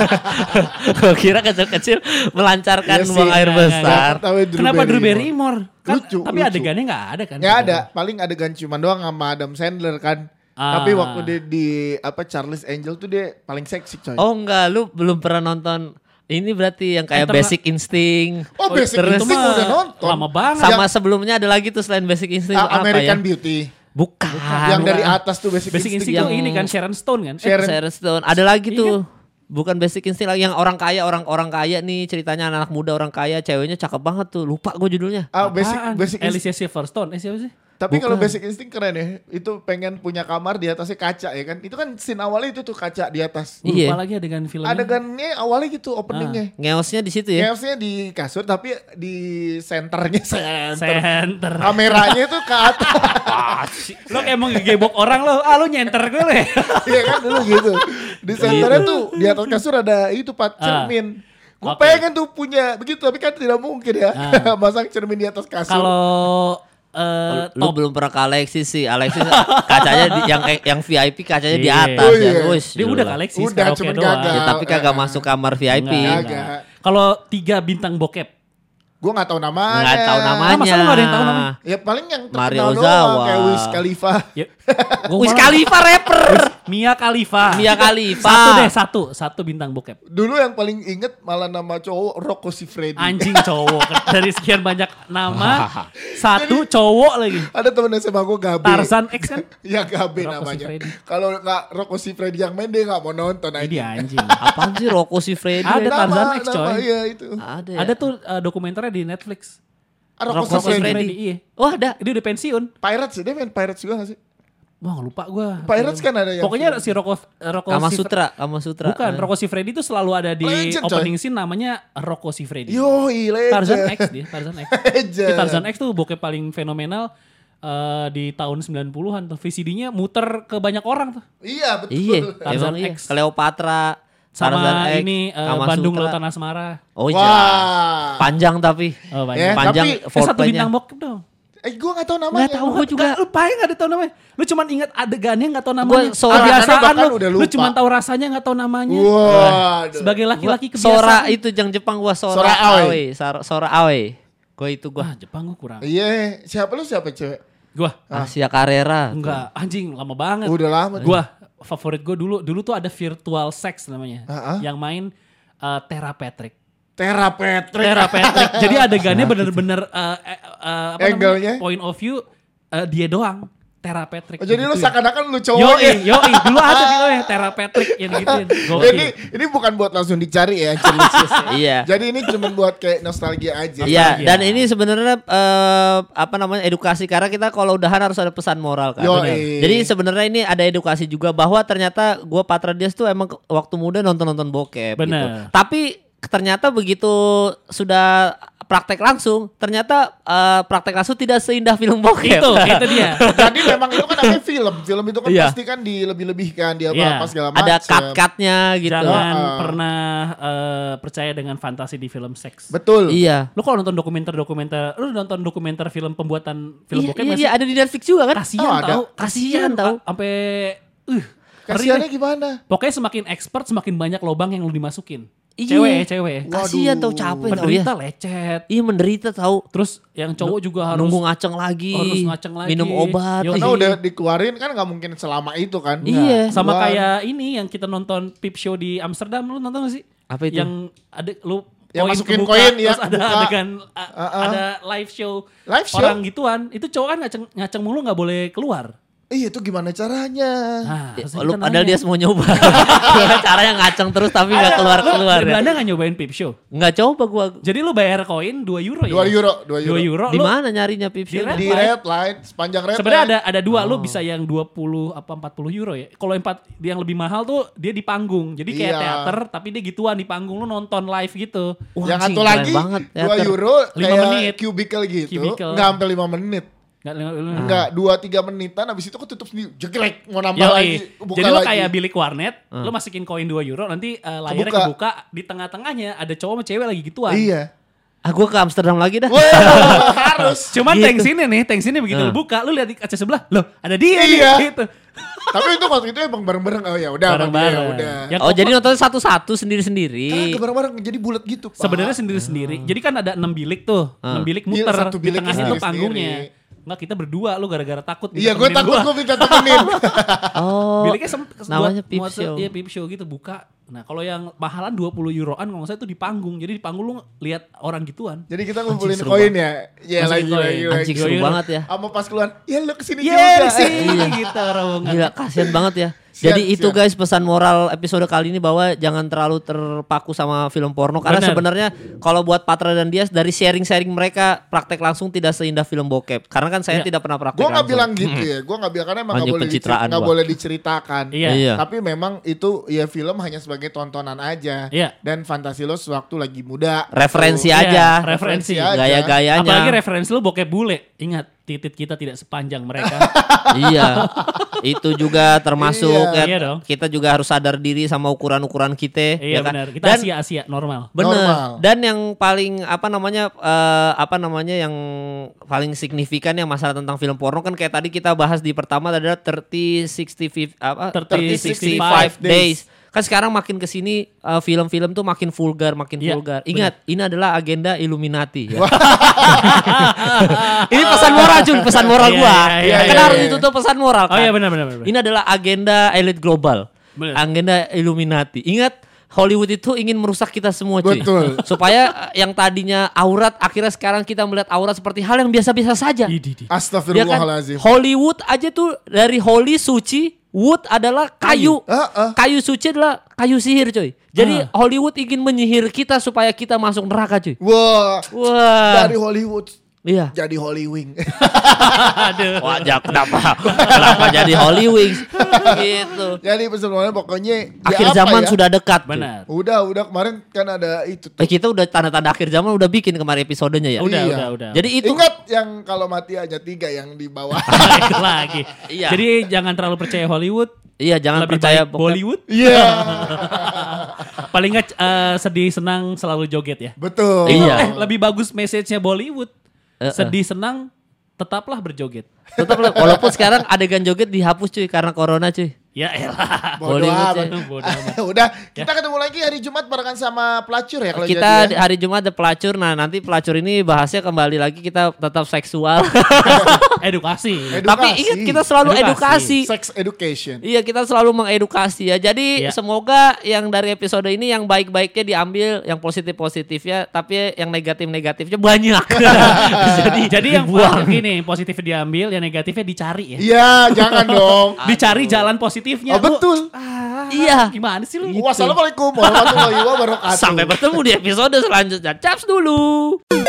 Gua kira kecil-kecil melancarkan Iya sih, buang air enggak, besar. Tahu Kenapa Drew Barrymore? Kan, Lucu, tapi lucu. adegannya nggak ada kan? nggak ada paling adegan cuman doang sama Adam Sandler kan. Ah. Tapi waktu dia di Charlie's Angel tuh dia paling seksi coy. Oh enggak, lu belum pernah nonton ini berarti yang kayak Terna- Basic Instinct. Oh, Basic terus Instinct mah udah nonton. lama banget. sama sebelumnya ada lagi tuh selain Basic Instinct apa American ya? Beauty. Bukan. yang dari atas tuh Basic, Basic Instinct. Instinct yang- tuh ini kan Sharon Stone kan? Sharon Stone. Ada lagi Iya tuh. Bukan Basic Instinct lagi yang orang kaya, orang kaya nih ceritanya anak muda orang kaya, ceweknya cakep banget tuh. Lupa gue judulnya. Basic Apaan? Basic Instinct. Alicia Silverstone. Siapa sih? Tapi kalau Bukan. Basic Instinct keren ya. Itu pengen punya kamar di atasnya kaca ya kan. Itu kan scene awalnya itu tuh kaca di atas. Gue Iya. lupa lagi adegan filmnya. Adegannya awalnya gitu openingnya. Ngeosnya di situ ya. Chaosnya di kasur tapi di senternya Center. kameranya itu ke atas. Lo kayak mau ngegebok orang lo. Lu nyenter gue lo ya. Iya kan dulu gitu. Di senternya tuh di atas kasur ada itu cermin. Gue Oke. pengen tuh punya begitu tapi kan tidak mungkin ya. Masang cermin di atas kasur. Kalau Lu belum pernah ke Alexis sih. Alexis kacanya yang VIP kacanya di Iya. atas Oh, ya. iya. Wih, dia gila. udah Alexis Udah, karaoke cuman doang. gagal. Ya, tapi kagak masuk kamar VIP. Enggak. Kalau 3 bintang bokep. Gue gak tahu namanya. Nggak tahu namanya. Masa lu nggak ada yang tahu namanya? Ya paling yang Mario terkenal Ozawa. doang kayak Wiz Khalifa. Ya. Wiz Khalifa rapper. Mia Khalifa. Mia Khalifa. Satu bintang bokep. Dulu yang paling inget malah nama cowok Rocco Siffredi. Anjing cowok. Dari sekian banyak nama, satu cowok lagi. Ada temen SMA gue Gabe. Tarzan X kan? Ya Gabe Rocco namanya. Siffredi. Kalau nggak Rocco Siffredi yang main dia nggak mau nonton aja. Ini anjing. Apaan sih Rocco Siffredi? Ada Tarzan X, coy. Iya itu. Ada ya? Ada tuh dokumenternya di Netflix. Rocco Rocco Siffredi. Siffredi. Iya. Oh ada. Dia udah pensiun. Pirates dia main Pirates juga gak sih? Wah lupa gue. Pirates kan ada yang Pokoknya si Rocco Kama Sutra. Bukan, Rocco Siffredi itu selalu ada di Legend, coy. opening scene namanya Rocco Siffredi. Yoi Tarzan legend. X dia, Tarzan X. Legend. Di Tarzan X tuh bokep paling fenomenal di tahun 90-an tuh. VCD-nya muter ke banyak orang tuh. Iya betul. Iya, Tarzan emang iya. X. Cleopatra, Sama Tarzan X, ini Kama Bandung Sutra. Lautan Asmara. Oh iya. Wah. Panjang tapi. Oh Ya, banyak. Panjang tapi- Satu foreplaynya. bintang bokep dong. Gue gak tahu namanya. Nggak tahu gue juga. Lu paling gak ada tau namanya. Lu cuma ingat adegannya gak tau namanya. Sora- Kebiasaan bahkan lu. udah Lu lupa. cuma tahu rasanya gak tahu namanya. Wah. Sebagai laki-laki kebiasaan. Sora itu yang Jepang gua Sora Sora Aoi. Aoi. Sora Aoi. Gue itu gua. Wah Jepang gue kurang. Iya. Siapa cewek? Gua Asia Carrera. enggak anjing lama banget. Udah lama. Gua favorit gue dulu tuh ada virtual sex namanya. Ah. Yang main Tera Patrick. Tera Patrick. Tera Patrick. Jadi adegannya bener-bener apa Angle-nya? namanya, point of view dia doang. Tera Patrick. Oh, jadi lu Digituin. seakan-akan lu cowok ya. Yoi, dulu ada gitu ya Tera Patrick yang gituin. Gokil. Ini bukan buat langsung dicari ya. Iya. Jadi ini cuma buat kayak nostalgia aja. Iya, Nostalgia. dan ini sebenarnya apa namanya edukasi karena kita kalau udahan harus ada pesan moral kan. Yoi. Benar. Jadi sebenarnya ini ada edukasi juga bahwa ternyata gua Patra Dias tuh emang waktu muda nonton bokep gitu. Bener. Tapi ternyata begitu sudah praktek langsung, ternyata praktek langsung tidak seindah film bokep. Itu dia. Jadi memang itu kan namanya film. Film itu kan Iya. pasti kan dilebih-lebihkan dia Iya. apa segala macam. Ada cut-cutnya gitu. Jangan Ah. pernah percaya dengan fantasi di film seks. Betul. Iya. Lu kalau nonton dokumenter, lu nonton dokumenter film pembuatan film bokep nggak sih? Iya, ada di Netflix juga kan? Kasian Oh, ada. tahu, Kasian tahu. Sampai Kasiannya gimana? Pokoknya semakin expert semakin banyak lobang yang lu dimasukin. Cewek. Kasihan tau, capek tau ya. Menderita lecet. Iya menderita tahu. Terus yang cowok juga harus nunggu ngaceng lagi. harus ngaceng lagi. Minum obat. Yo, Karena udah dikeluarin kan gak mungkin selama itu kan. Iya. Sama Keluar. kayak ini yang kita nonton Peep Show di Amsterdam, lu nonton gak sih? Apa itu? Yang ada lu Yang koin masukin kebuka, koin, ya, terus ada kebuka. adegan ada live show Live show? orang gituan. Itu cowok kan ngaceng mulu gak boleh keluar. Iya itu gimana caranya? Nah, terus Lu kita padahal nanya, dia mau nyoba. Caranya ngaceng terus tapi gak keluar-keluar. Di Ya. Belanda gak nyobain Peep Show? Nggak coba gua. Jadi lu bayar koin 2 euro ya? 2 euro. 2 euro. Di lu mana nyarinya Peep Show? Red Di Light. red light, sepanjang red sebenarnya light. ada dua, lu bisa yang 20 apa 40 euro ya. Kalau yang lebih mahal tuh dia di panggung. Jadi kayak Iya. teater tapi dia gituan di panggung, lu nonton live gitu. Wah, Yang anjing, satu keren lagi banget, 2 teater. euro 5 kayak menit. cubicle gitu. Cubicle. Nggak sampai 5 menit. Nggak. Enggak, 2-3 menitan habis itu ketutup sendiri. Jeglek mau nambah Yoi. lagi. Buka Jadi lu lagi. kayak bilik warnet, lu masukin koin 2 euro, nanti layarnya kebuka, di tengah-tengahnya ada cowok sama cewek lagi gituan. Iya. Gue ke Amsterdam lagi dah. Wah, harus. Cuman Gitu. tank sini begitu lu buka, lu lihat di kaca sebelah, loh ada dia Iya. nih gitu. Tapi itu waktu itu emang bareng-bareng. Oh ya udah, Bareng-bareng. ya udah. Yang Oh jadi nonton satu-satu sendiri-sendiri. Kagak bareng-bareng jadi bulat gitu, Pak. sebenarnya sendiri-sendiri. Jadi kan ada 6 bilik tuh, 6 bilik Iya, muter, satu di bilik tengahnya tuh sendiri-sendiri. panggungnya. Enggak, kita berdua, lu gara-gara takut. Iya, gue ditemenin takut gue minta temenin. Oh. Biliknya namanya Peep muat- Show. Iya, Peep Show gitu buka. Nah, kalau yang mahalan 20 euroan kalau nggak salah itu di panggung. Jadi di panggung lu lihat orang gituan. Jadi kita ngumpulin seru koin ya. Iya Masukin koin. lagi. Anjing seru Euro. banget ya. Sama pas keluar, ya lu kesini Iya, juga. sih gitu rombongan. Gila kasihan banget ya. Siap, Jadi itu siap. guys pesan moral episode kali ini bahwa jangan terlalu terpaku sama film porno. Karena Bener. sebenarnya kalau buat Patra dan Dias dari sharing-sharing mereka praktek langsung tidak seindah film bokep. Karena kan saya Iya. tidak pernah praktek Gue nggak langsung. bilang gitu ya. Gue nggak bilang karena emang Anjing pencitraan nggak gua. boleh diceritakan. Iya. Tapi memang itu ya film hanya sebagai tontonan aja. Iya. Dan fantasi lo sewaktu lagi muda. Referensi Gitu. aja. Iya, referensi aja. Gaya-gayanya. Apalagi referensi lu bokep bule. Ingat, titit kita tidak sepanjang mereka. Iya. Itu juga termasuk Iya. ya, Iya dong. kita juga harus sadar diri sama ukuran-ukuran kita. Iya ya kan? benar. Kita Dan Asia normal. bener. Normal. Dan yang paling apa namanya yang paling signifikan yang masalah tentang film porno kan kayak tadi kita bahas di pertama adalah 30-65 65 days. Kan sekarang makin kesini film-film tuh makin vulgar, Iya, Ingat, ini adalah agenda Illuminati. Ya. Ini pesan moral Jun, pesan moral Iya, gua. iya, Kan iya, harus iya. ditutup pesan moral Oh kan. iya benar. Ini adalah agenda elit global. Bener. Agenda Illuminati. Ingat Hollywood itu ingin merusak kita semua cuy. Betul. Supaya yang tadinya aurat akhirnya sekarang kita melihat aurat seperti hal yang biasa-biasa saja. Idi. Ya kan? Astagfirullahaladzim. Hollywood aja tuh dari holy suci, wood adalah kayu. Kayu suci adalah kayu sihir coy. Jadi Hollywood ingin menyihir kita supaya kita masuk neraka cuy. Wah. Wah. Dari Hollywood Iya. jadi Hollywing. Aduh. Wajah kenapa jadi Holy Wings gitu. Jadi sebenarnya pokoknya Akhir ya apa zaman ya? sudah dekat. cuy. Benar. Udah kemarin kan ada itu tuh. Kita udah tanda-tanda akhir zaman udah bikin kemarin episodenya ya. Iya. Udah. Jadi itu Ingat yang kalau mati aja 3 yang di bawah. Itu lagi. Iya. Jadi jangan terlalu percaya Hollywood. iya jangan Lebih percaya baik bokep. Bollywood. Iya. Paling nggak sedih senang selalu joget ya. Betul. Iya. Lebih bagus message-nya Bollywood. Sedih senang tetaplah berjoget. Tetap lah, walaupun sekarang adegan joget dihapus cuy karena corona cuy. Ya elah. Bodoh Hollywood amat. ya. Bodoh amat. Udah, kita ketemu lagi hari Jumat barengan sama pelacur ya kalau Kita jadi ya. hari Jumat ada pelacur. Nah nanti pelacur ini bahasnya kembali lagi kita tetap seksual. Edukasi. Tapi ingat kita selalu edukasi. Sex education. Iya kita selalu mengedukasi ya. Jadi Iya. semoga yang dari episode ini yang baik-baiknya diambil, yang positif-positifnya, tapi yang negatif-negatifnya banyak. Jadi yang dibuang. gini, positifnya diambil, yang negatifnya dicari ya. Iya, jangan dong. Dicari jalan positifnya. Oh, betul. Iya. Gimana sih lu? Wassalamualaikum warahmatullahi wabarakatuh. Sampai bertemu di episode selanjutnya. Caps dulu.